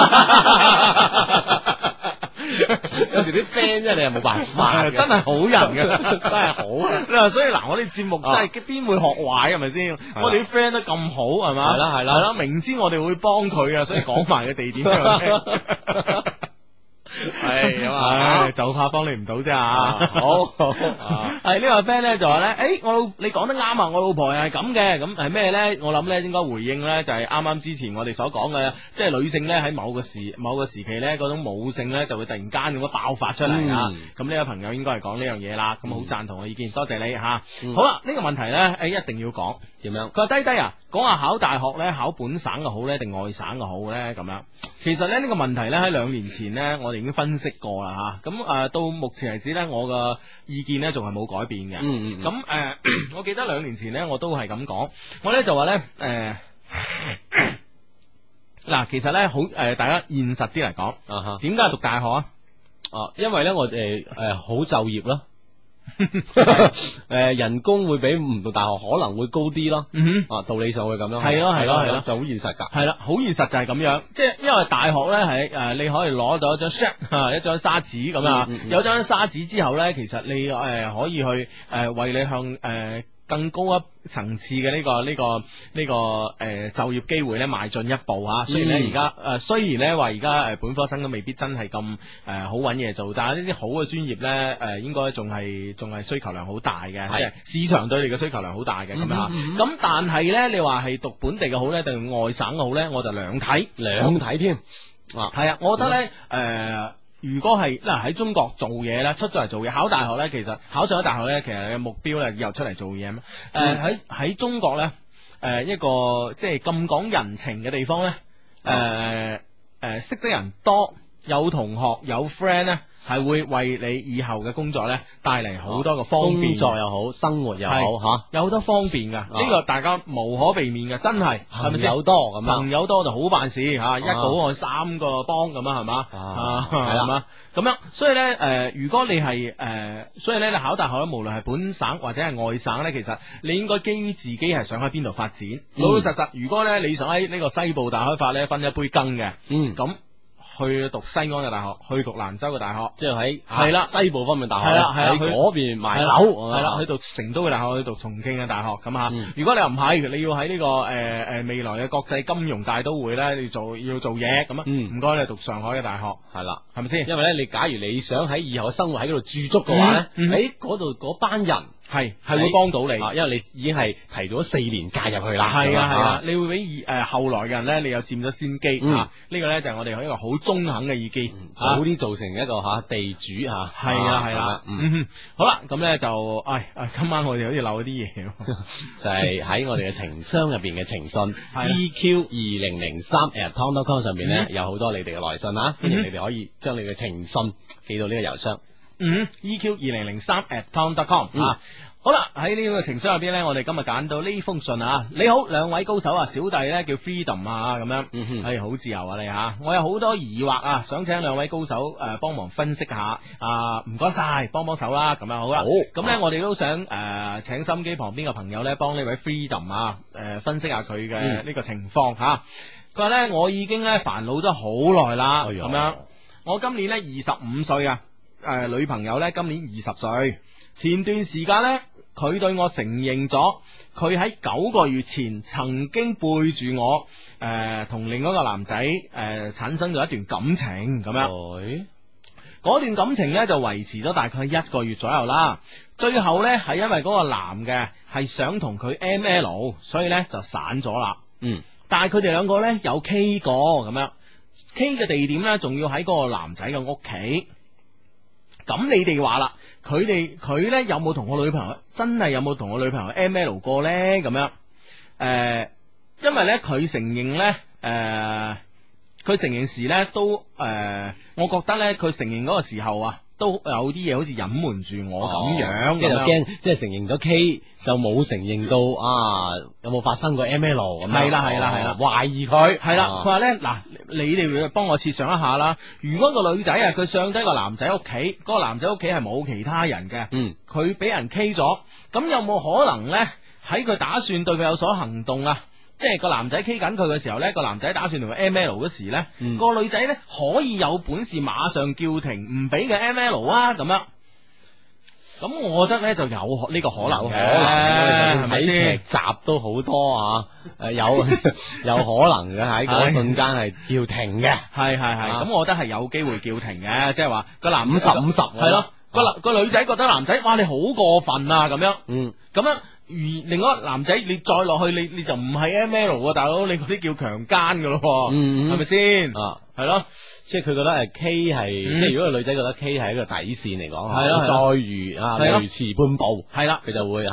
有時啲 friend 真係你又冇辦法， 真係好人嘅， 真係好啊！ 你話所以嗱，我哋節目真係邊會學壞係咪先？我哋啲 friend 都咁好係嘛？ 係啦係啦， 係啦，明知我哋會幫佢啊，所以講埋個地點俾佢聽。係咁啊，就怕幫你唔到啫啊！好，係呢個 friend 咧就話咧，誒，我老你講得啱啊，我老婆又係咁嘅，咁係咩咧？我諗咧應該回應咧就係啱啱之前我哋所講嘅，即係女性咧喺某個時某個時期咧嗰種母性咧就會突然間咁樣爆發出嚟啊！咁呢位朋友應該係講呢樣嘢啦，咁好贊同我意見，多謝你吓。好啦，呢個問題咧，誒，一定要講點樣？ 佢話低低啊，講下考大學咧，考本省嘅好咧，定外省嘅好咧？咁樣，其實咧呢個問題咧喺兩年前咧，我哋已經分析過啦吓，咁誒、呃、到目前為止咧，我嘅意見咧仲係冇改變嘅。嗯嗯。咁誒、呃，我記得兩年前咧，我都係咁講，我咧就話咧誒嗱，其實咧好誒，大家現實啲嚟講， 啊哈， 點解讀大學啊？ 哦，因為咧我誒誒好就業咯。誒，人工會比唔讀大學可能會高啲咯。 嗯哼，啊，道理上會咁樣。 係咯係咯係咯， 就好現實噶。 係啦，好現實就係咁樣，即係因為大學咧係誒，你可以攞到一張 sheet 一張沙紙咁啊，有張沙紙之後咧，其實你誒、呃、可以去誒、呃、為你向誒。呃更高一層次嘅呢、這個呢、這個呢、這個誒、呃、就業機會咧邁進一步吓，雖然咧而家誒雖然咧話而家誒本科生都未必真係咁誒好揾嘢做，但係呢啲好嘅專業咧誒、呃、應該仲係仲係需求量好大嘅，即係市場對你嘅需求量好大嘅咁樣。咁但係咧你話係讀本地嘅好咧定外省嘅好咧，我就兩睇兩睇添。啊， 係啊，我覺得咧誒。呃如果係嗱喺中國做嘢咧，出咗嚟做嘢，考大學咧，其實考上咗大學咧，其實你嘅目標咧又出嚟做嘢咩？誒喺喺中國咧，誒、呃、一個即係咁講人情嘅地方咧，誒、呃、誒、呃、識得人多，有同學有 friend 咧，係會為你以後嘅工作咧帶嚟好多嘅方便，工作又好，生活又好吓，有好多方便噶，呢、啊、個大家無可避免嘅，真係係咪先？朋友多咁啊，朋友多就好辦事吓、啊，一個好愛三個幫咁啊，係嘛？啊，係啦，咁樣，所以咧，誒、呃，如果你係誒、呃，所以咧，你考大學咧，無論係本省或者係外省咧，其實你應該基於自己係想喺邊度發展，老、嗯、老實實。如果咧你想喺呢個西部大開發咧，分一杯羹嘅，嗯，咁。去讀西安嘅大學，去讀蘭州嘅大學，即係喺係啦西部方面大學，係啦係啦，喺嗰邊埋手，係啦，去讀成都嘅大學，去讀重慶嘅大學咁吓、嗯。如果你又唔係，你要喺呢、這個誒誒、呃、未來嘅國際金融大都會咧，你做要做嘢咁啊，唔該你讀上海嘅大學，係啦，係咪先？因為咧，你假如你想喺以後嘅生活喺嗰度駐足嘅話咧，喺嗰度嗰班人。係係會幫到你，因為你已經係提早四年介入去啦。係啊係啊，你會比誒、呃、後來嘅人咧，你又佔咗先機、嗯、啊！呢、這個咧就係我哋一個好中肯嘅意見，早啲做成一個吓、啊、地主吓。係啊係啦，嗯，好啦，咁咧就，唉，今晚我哋好似漏咗啲嘢，就係喺我哋嘅情商入邊嘅情信，E Q 二零零三 at tom dot com 上邊咧、嗯、有好多你哋嘅來信啊，歡、嗯、迎你哋可以將你嘅情信寄到呢個郵箱。嗯 ，E Q 二零零三 at tom dot com 啊，好啦，喺呢個情商入邊咧，我哋今日揀到呢封信啊，你好，兩位高手啊，小弟咧叫 Freedom 啊，咁樣，嗯係好自由啊你吓，我有好多疑惑啊，想請兩位高手誒幫、呃、忙分析下，啊唔該晒，幫幫手啦，咁樣好啦，好，咁咧我哋都想誒、呃、請心機旁邊嘅朋友咧幫呢位 Freedom 啊誒、呃、分析下佢嘅呢個情況吓，佢話咧我已經咧煩惱咗好耐啦，咁、哎、樣，我今年咧二十五歲啊。誒、呃，女朋友咧今年二十歲，前段時間咧，佢對我承認咗，佢喺九個月前曾經背住我，誒、呃，同另外一個男仔誒、呃、產生咗一段感情咁樣。嗰段感情咧就維持咗大概一個月左右啦，最後咧係因為嗰個男嘅係想同佢 M L， 所以咧就散咗啦。嗯，但係佢哋兩個咧有 K 過咁樣 ，K 嘅地點咧仲要喺嗰個男仔嘅屋企。咁你哋話啦，佢哋佢咧有冇同我女朋友真係有冇同我女朋友 M L 過咧？咁樣，誒、呃，因為咧佢承認咧，誒、呃，佢承認時咧都，誒、呃，我覺得咧佢承認嗰個時候啊，都有啲嘢好似隱瞞住我咁樣，即係驚，即係承認咗 K 就冇承認到啊，有冇發生過 M L 咁樣？係啦係啦係啦，懷疑佢係啦，佢話咧嗱，你哋幫我設想一下啦，如果個女仔啊佢上低個男仔屋企，嗰個男仔屋企係冇其他人嘅，嗯，佢俾人 K 咗，咁有冇可能咧喺佢打算對佢有所行動啊？即係個男仔 K 緊佢嘅時候咧，個男仔打算同佢 M L 嗰時咧，嗯，個女仔咧可以有本事馬上叫停，唔俾佢 M L 啊咁樣。咁我覺得咧就有呢個可能嘅，係咪先？劇集都好多啊，誒有有可能嘅喺嗰瞬間係叫停嘅，係係係。咁我覺得係有機會叫停嘅，即係話個男五十五十係咯，個男個女仔覺得男仔哇你好過分啊咁樣，嗯，咁樣。而另外一個男仔，你再落去，你你就唔係 M L 啊，大佬，你嗰啲叫強姦噶咯，嗯，係咪先？啊，係咯，即係佢覺得誒 K 係，嗯，即係如果個女仔覺得 K 係一個底線嚟講，係咯，再如啊，屢遲半步，係啦，佢就會吓。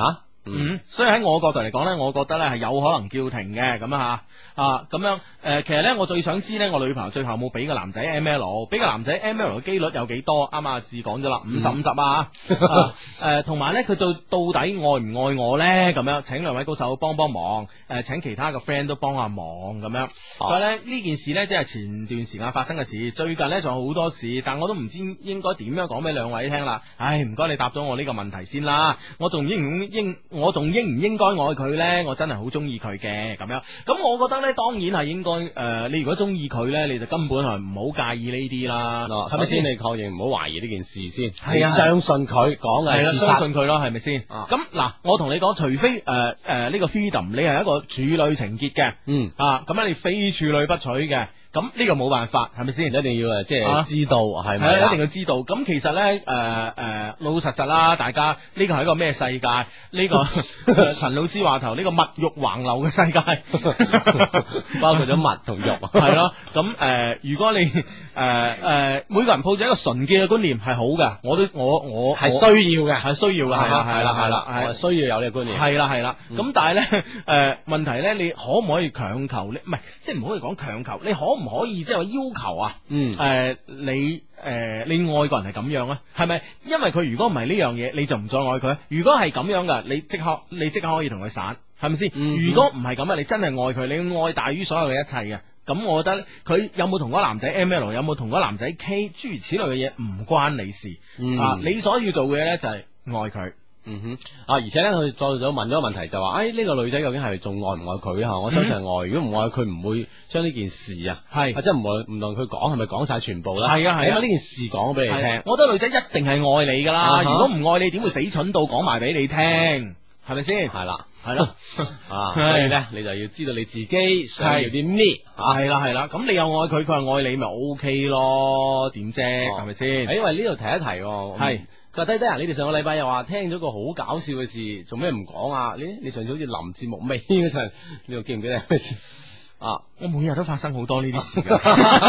嗯，所以喺我角度嚟講咧，我覺得咧係有可能叫停嘅咁啊啊咁樣誒、呃，其實咧我最想知咧，我女朋友最後有冇俾個男仔 M L， 俾個男仔 M L 嘅機率有幾多？啱啱阿志講咗啦，五十五十啊，誒同埋咧佢到到底愛唔愛我咧？咁樣請兩位高手幫幫忙，誒、呃、請其他嘅 friend 都幫下忙咁樣。所以咧呢件事咧即係前段時間發生嘅事，最近咧仲有好多事，但我都唔知應該點樣講俾兩位聽啦。唉，唔該你答咗我呢個問題先啦，我仲應唔應我仲應唔應該愛佢咧？我真係好中意佢嘅咁樣。咁我覺得咧，當然係應該誒、呃，你如果中意佢咧，你就根本係唔好介意呢啲啦，係咪先？ 你確認唔好懷疑呢件事先， 係啊， 相信佢講嘅係事實， 相信佢咯，係咪先？咁嗱、啊，我同你講，除非誒誒呢個 freedom，你係一個處女情結嘅，嗯啊，咁樣你非處女不娶嘅。咁呢個冇辦法，係咪先？一定要誒，即係知道係咪？係一定要知道。咁其實咧，誒、呃、誒、呃，老老實實啦，大家呢個係一個咩世界？呢、這個陳老師話頭，呢、這個物欲橫流嘅世界，包括咗物同肉，係咯。咁誒、呃，如果你誒誒、呃呃，每個人抱住一個純潔嘅觀念係好嘅，我都我我係需要嘅，係需要嘅，係啦係啦係啦，係需要有呢個觀念，係啦係啦。咁、嗯、但係咧，誒、呃、問題咧，你可唔可以強求咧？唔係，即係唔可以講強求，你可唔可以即係話要求啊？嗯，誒、呃，你誒、呃，你愛個人係咁樣啊？係咪？因為佢如果唔係呢樣嘢，你就唔再愛佢。如果係咁樣噶，你即刻你即刻可以同佢散，係咪先？嗯、如果唔係咁啊，你真係愛佢，你愛大於所有嘅一切嘅。咁我覺得佢有冇同嗰個男仔 M L， 有冇同嗰個男仔 K， 諸如此類嘅嘢唔關你事。嗯、啊，你所要做嘅咧就係愛佢。嗯哼，啊，而且咧，佢再咗問咗個問題就話，誒、哎，呢、這個女仔究竟係仲愛唔愛佢吓？我相信係愛，如果唔愛佢，唔會將呢件事啊，係，或者唔會唔同佢講，係咪講晒全部啦？係啊係啊，因為呢件事講咗俾你聽，我覺得女仔一定係愛你噶啦，啊、如果唔愛你，點會死蠢到講埋俾你聽？係咪先？係啦，係咯，啊，所以咧，你就要知道你自己想要啲咩，係啦係啦，咁你又愛佢，佢又愛你，咪 O K 咯？點啫？係咪先？因為呢度提一提，係。佢話低低啊！你哋上個禮拜又話聽咗個好搞笑嘅事，做咩唔講啊？你你上次好似臨節目尾嗰陣，你又記唔記得咩事啊？我每日都發生好多呢啲事噶。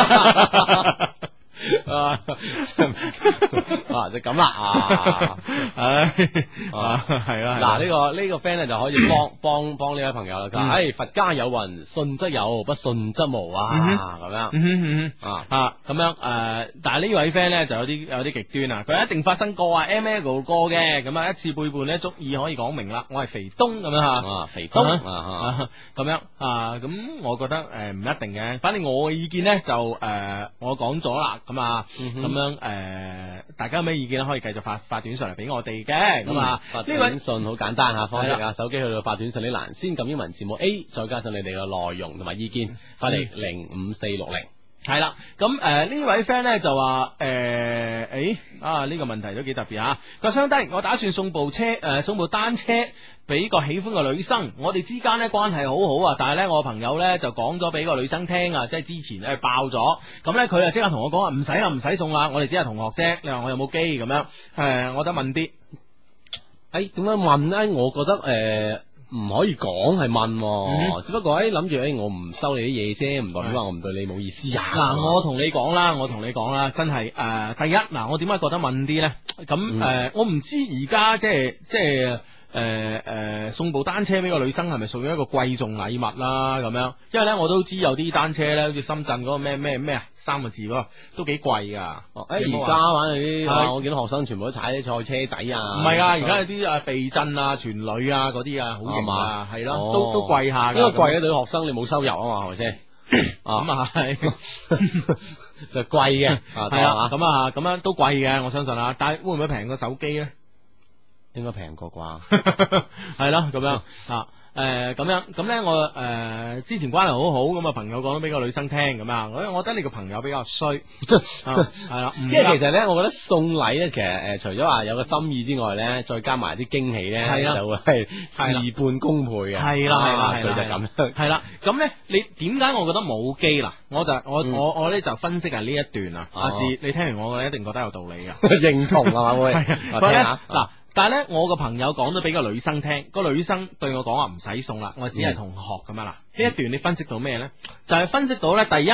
啊，啊就咁啦啊，唉啊係啦，嗱呢個呢個 friend 咧就可以幫幫幫呢位朋友啦。佢話：唉，佛家有云，信則有，不信則無啊，咁樣啊啊咁樣誒，但係呢位 friend 咧就有啲有啲極端啊，佢一定發生過啊 M L 過嘅，咁啊一次背叛咧足以可以講明啦。我係肥東咁樣吓，啊肥東啊咁樣啊，咁我覺得誒唔一定嘅，反正我嘅意見咧就誒我講咗啦。咁啊，咁、嗯、樣誒、呃，大家有咩意見咧？可以繼續發發短信嚟俾我哋嘅。咁啊，呢位短信好簡單吓，方式啊，手機去到發短信呢欄，先撳英文字母 A， 再加上你哋嘅內容同埋意見，發嚟零五四六零。係啦，咁誒呢位 friend 咧就話誒，誒、欸、啊呢、這個問題都幾特別啊！佢話相低，我打算送部車誒、呃，送部單車俾個喜歡嘅女生，我哋之間咧關係好好啊，但係咧我朋友咧就講咗俾個女生聽啊，即係之前咧爆咗，咁咧佢就即刻同我講話唔使啦，唔使送啦，我哋只係同學啫。你話我有冇機咁樣？誒、呃，我得問啲，誒點解問咧？我覺得誒。呃唔可以講係問、啊，嗯、只不過誒諗住誒我唔收你啲嘢啫，唔代表話我唔對你冇意思啊。嗱、嗯，我同你講啦，我同你講啦，真係誒、呃，第一嗱，我點解覺得問啲咧？咁誒、嗯呃，我唔知而家即係即係。誒誒、呃呃，送部單車俾個女生係咪屬於一個貴重禮物啦？咁樣，因為咧我都知有啲單車咧，好似深圳嗰個咩咩咩啊三個字嗰個都幾貴噶。誒而家玩啲，啊、我見到學生全部都踩啲賽車仔啊。唔係啊，而家有啲啊避震啊、全鋁啊嗰啲啊，好型啊，係咯，哦，都都貴下。因為貴啊，對學生你冇收入啊嘛，係咪先？咁啊係，就貴嘅，係啊，咁啊咁樣都貴嘅，我相信啊。但係會唔會平過手機咧？應該平過啩，係咯咁樣啊，誒咁樣咁咧，我誒、呃、之前關係好好咁啊，朋友講咗俾個女生聽咁啊，我我覺得你個朋友比較衰，係啦，因為其實咧，我覺得送禮咧，其實誒、呃、除咗話有個心意之外咧，再加埋啲驚喜咧，係就會係事半功倍嘅，係啦係啦，佢就咁，係啦，咁咧你點解我覺得冇機啦？我就我、嗯、我我咧就分析下呢一段啊，阿志、哦、你聽完我嘅一定覺得有道理噶，認同啊嘛會，我聽下嗱。但係咧，我個朋友講咗俾個女生聽，個女生對我講話唔使送啦，我只係同學咁樣啦。呢、嗯、一段你分析到咩咧？就係、是、分析到咧，第一，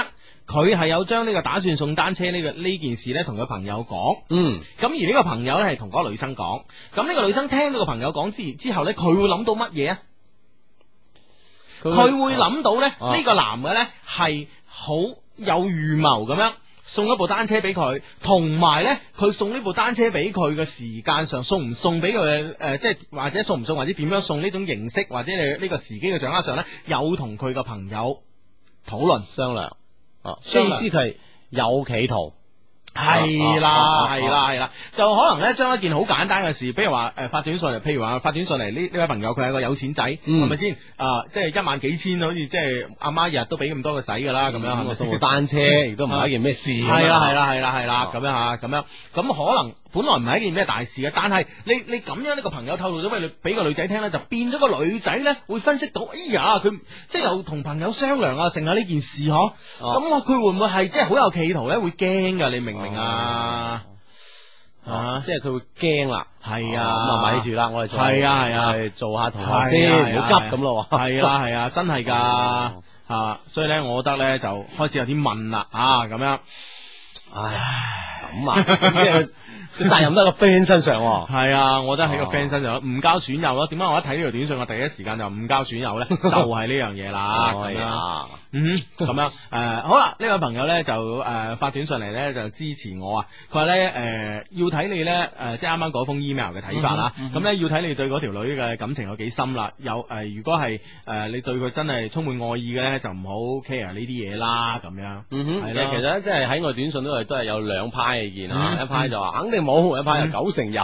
佢係有將呢個打算送單車呢個呢件事呢同佢朋友講， 嗯， 咁而呢個朋友呢係同嗰個女生講，咁呢個女生聽到個朋友講之之後呢，佢會諗到乜嘢啊？佢會諗到呢，呢、啊、個男嘅呢係好有預謀咁樣送一部單車俾佢，同埋呢，佢送呢部單車俾佢嘅時間上送唔送俾佢誒，即係或者送唔送或者點樣送呢種形式或者你呢個時機嘅掌握上呢，有同佢個朋友討論商量。哦， 即係意思佢係有企圖， 係啦係啦係啦，就可能咧將一件好簡單嘅事，比如話誒、呃、發短信嚟，譬如話發短信嚟呢呢位朋友佢係個有錢仔，係咪先啊？即係一萬幾千，好似即係阿媽日日都俾咁多佢使噶啦，咁、嗯、樣係咪送部單車亦都唔係一件咩事？係啦係啦係啦係啦，咁樣吓咁樣，咁可能本來唔係一件咩大事嘅，但係你你咁樣呢個朋友透露咗俾俾個女仔聽咧，就變咗個女仔咧會分析到，哎呀佢即係又同朋友商量啊，剩下呢件事嗬，咁我佢會唔會係即係好有企圖咧？會驚噶，你明唔明啊？啊，即係佢會驚啦，係啊，咁啊咪住啦，我哋係啊係啊，做下同學先，唔好急咁咯，係啦係啊，真係噶啊，所以咧，我覺得咧就開始有啲問啦啊，咁樣，唉，咁啊，即係。責任都喺個 friend 身上，係啊，我覺得喺個 friend 身上誤交損友咯。點解我一睇呢條短信，我第一時間就誤交損友咧？就係呢樣嘢啦。係啊，嗯，咁樣誒，好啦，呢位朋友咧就誒發短信嚟咧就支持我啊。佢話咧誒要睇你咧誒，即係啱啱嗰封 email 嘅睇法啦。咁咧要睇你對嗰條女嘅感情有幾深啦。有誒，如果係誒你對佢真係充滿愛意嘅咧，就唔好 care 呢啲嘢啦。咁樣，嗯哼，係啦。其實即係喺我短信都係都係有兩派意見啊。一派就話肯定冇，一派有九成有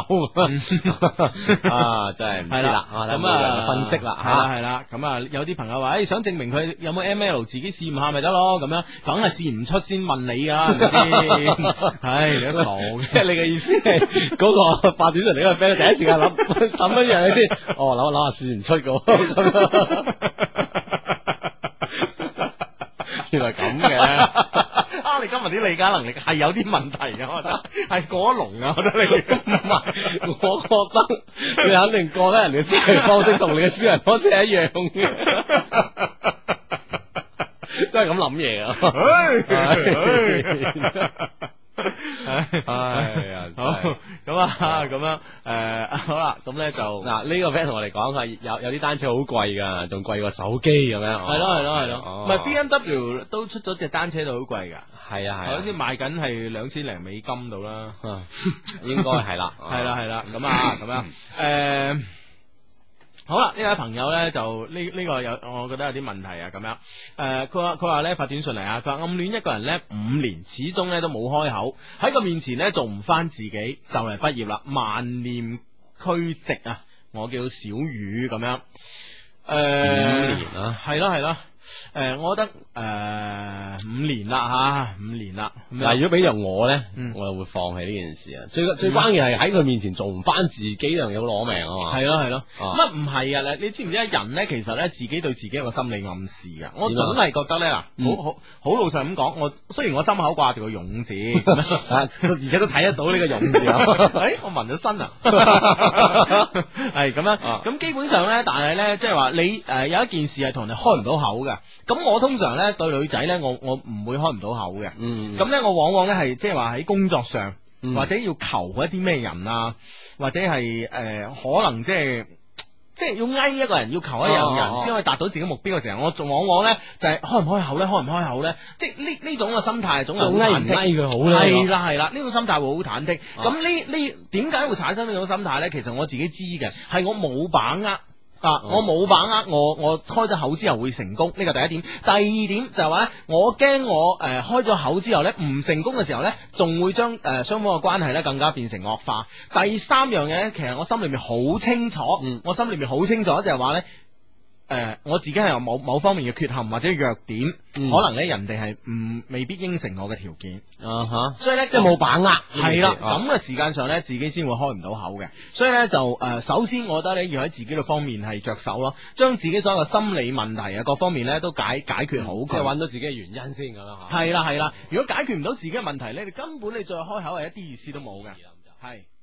啊，真係唔知啦。咁啊，分析啦，係啦係啦。咁啊，有啲朋友話，誒，想證明佢有冇 M L，自己試驗下咪得咯。咁樣，梗係試唔出先問你噶，係咪先？唉，你都傻嘅。即係你嘅意思係嗰個發短信嚟嗰個 friend，第一時間諗諗乜嘢先？哦，諗諗下試唔出嘅。原來咁嘅。啊！你今日啲理解能力係有啲問題嘅，我覺得係過咗龍啊！我覺得你唔係，我覺得你肯定覺得人哋嘅思維方式同你嘅思維方式係一樣嘅，真係咁諗嘢啊！哎呀，好咁啊，咁樣誒，好啦，咁咧就嗱呢個 friend 同我哋講係有有啲單車好貴噶，仲貴過手機咁樣。係咯係咯係咯，唔係 B M W 都出咗隻單車都好貴噶。係啊係，好似賣緊係兩千零美金度啦，應該係啦，係啦係啦，咁啊咁樣誒。好啦，呢位朋友咧就呢呢、這個有，我覺得有啲問題啊，咁樣誒，佢話佢話咧發短信嚟啊，佢話暗戀一個人咧五年，始終咧都冇開口，喺佢面前咧做唔翻自己，就嚟畢業啦，萬念俱寂啊，我叫小雨咁樣，誒、呃、五年啊，係咯係咯。誒、呃，我覺得誒、呃、五年啦吓，五年啦。嗱，如果俾着我咧，嗯、我又會放棄呢件事啊。最最關鍵係喺佢面前做唔翻自己，呢樣嘢好攞命啊嘛。係咯係咯，乜唔係啊？你你知唔知啊？人咧其實咧自己對自己有個心理暗示噶。我總係覺得咧嗱，嗯、好好好老實咁講，我雖然我心口掛住個勇字，而且都睇得到呢個勇字。誒、哎，我紋咗身啊，係咁樣。咁基本上咧，但係咧，即係話你誒、呃、有一件事係同你開唔到口嘅。咁我通常咧對女仔咧，我我唔會開唔到口嘅。嗯，咁咧我往往咧係即係話喺工作上，嗯、或者要求一啲咩人啊，或者係誒、呃、可能即係即係要哀一個人，要求一樣人先可以達到自己目標嘅時候，我仲往往咧就係、是、開唔開口咧，開唔開口咧，即係呢呢種嘅心態，總係好忐忑。哀唔哀佢好咧？係啦係啦，呢種心態會好忐忑。咁呢呢點解會產生呢種心態咧？其實我自己知嘅，係我冇把握。啊！我冇把握，我我開咗口之後會成功，呢個第一點。第二點就係話咧，我驚我誒、呃、開咗口之後咧唔成功嘅時候咧，仲會將誒雙方嘅關係咧更加變成惡化。第三樣嘢咧，其實我心裏面好清楚，嗯、我心裏面好清楚就係話咧。誒、呃，我自己係有某某方面嘅缺陷或者弱點，嗯、可能咧人哋係唔未必應承我嘅條件，啊哈，所以咧即係冇把握，係啦，咁嘅時間上咧自己先會開唔到口嘅，所以咧就誒、呃，首先我覺得咧要喺自己嘅方面係着手咯，將自己所有嘅心理問題啊各方面咧都解解決好，即係揾到自己嘅原因先咁樣吓，係啦係啦，如果解決唔到自己嘅問題咧，你根本你再開口係一啲意思都冇嘅，係。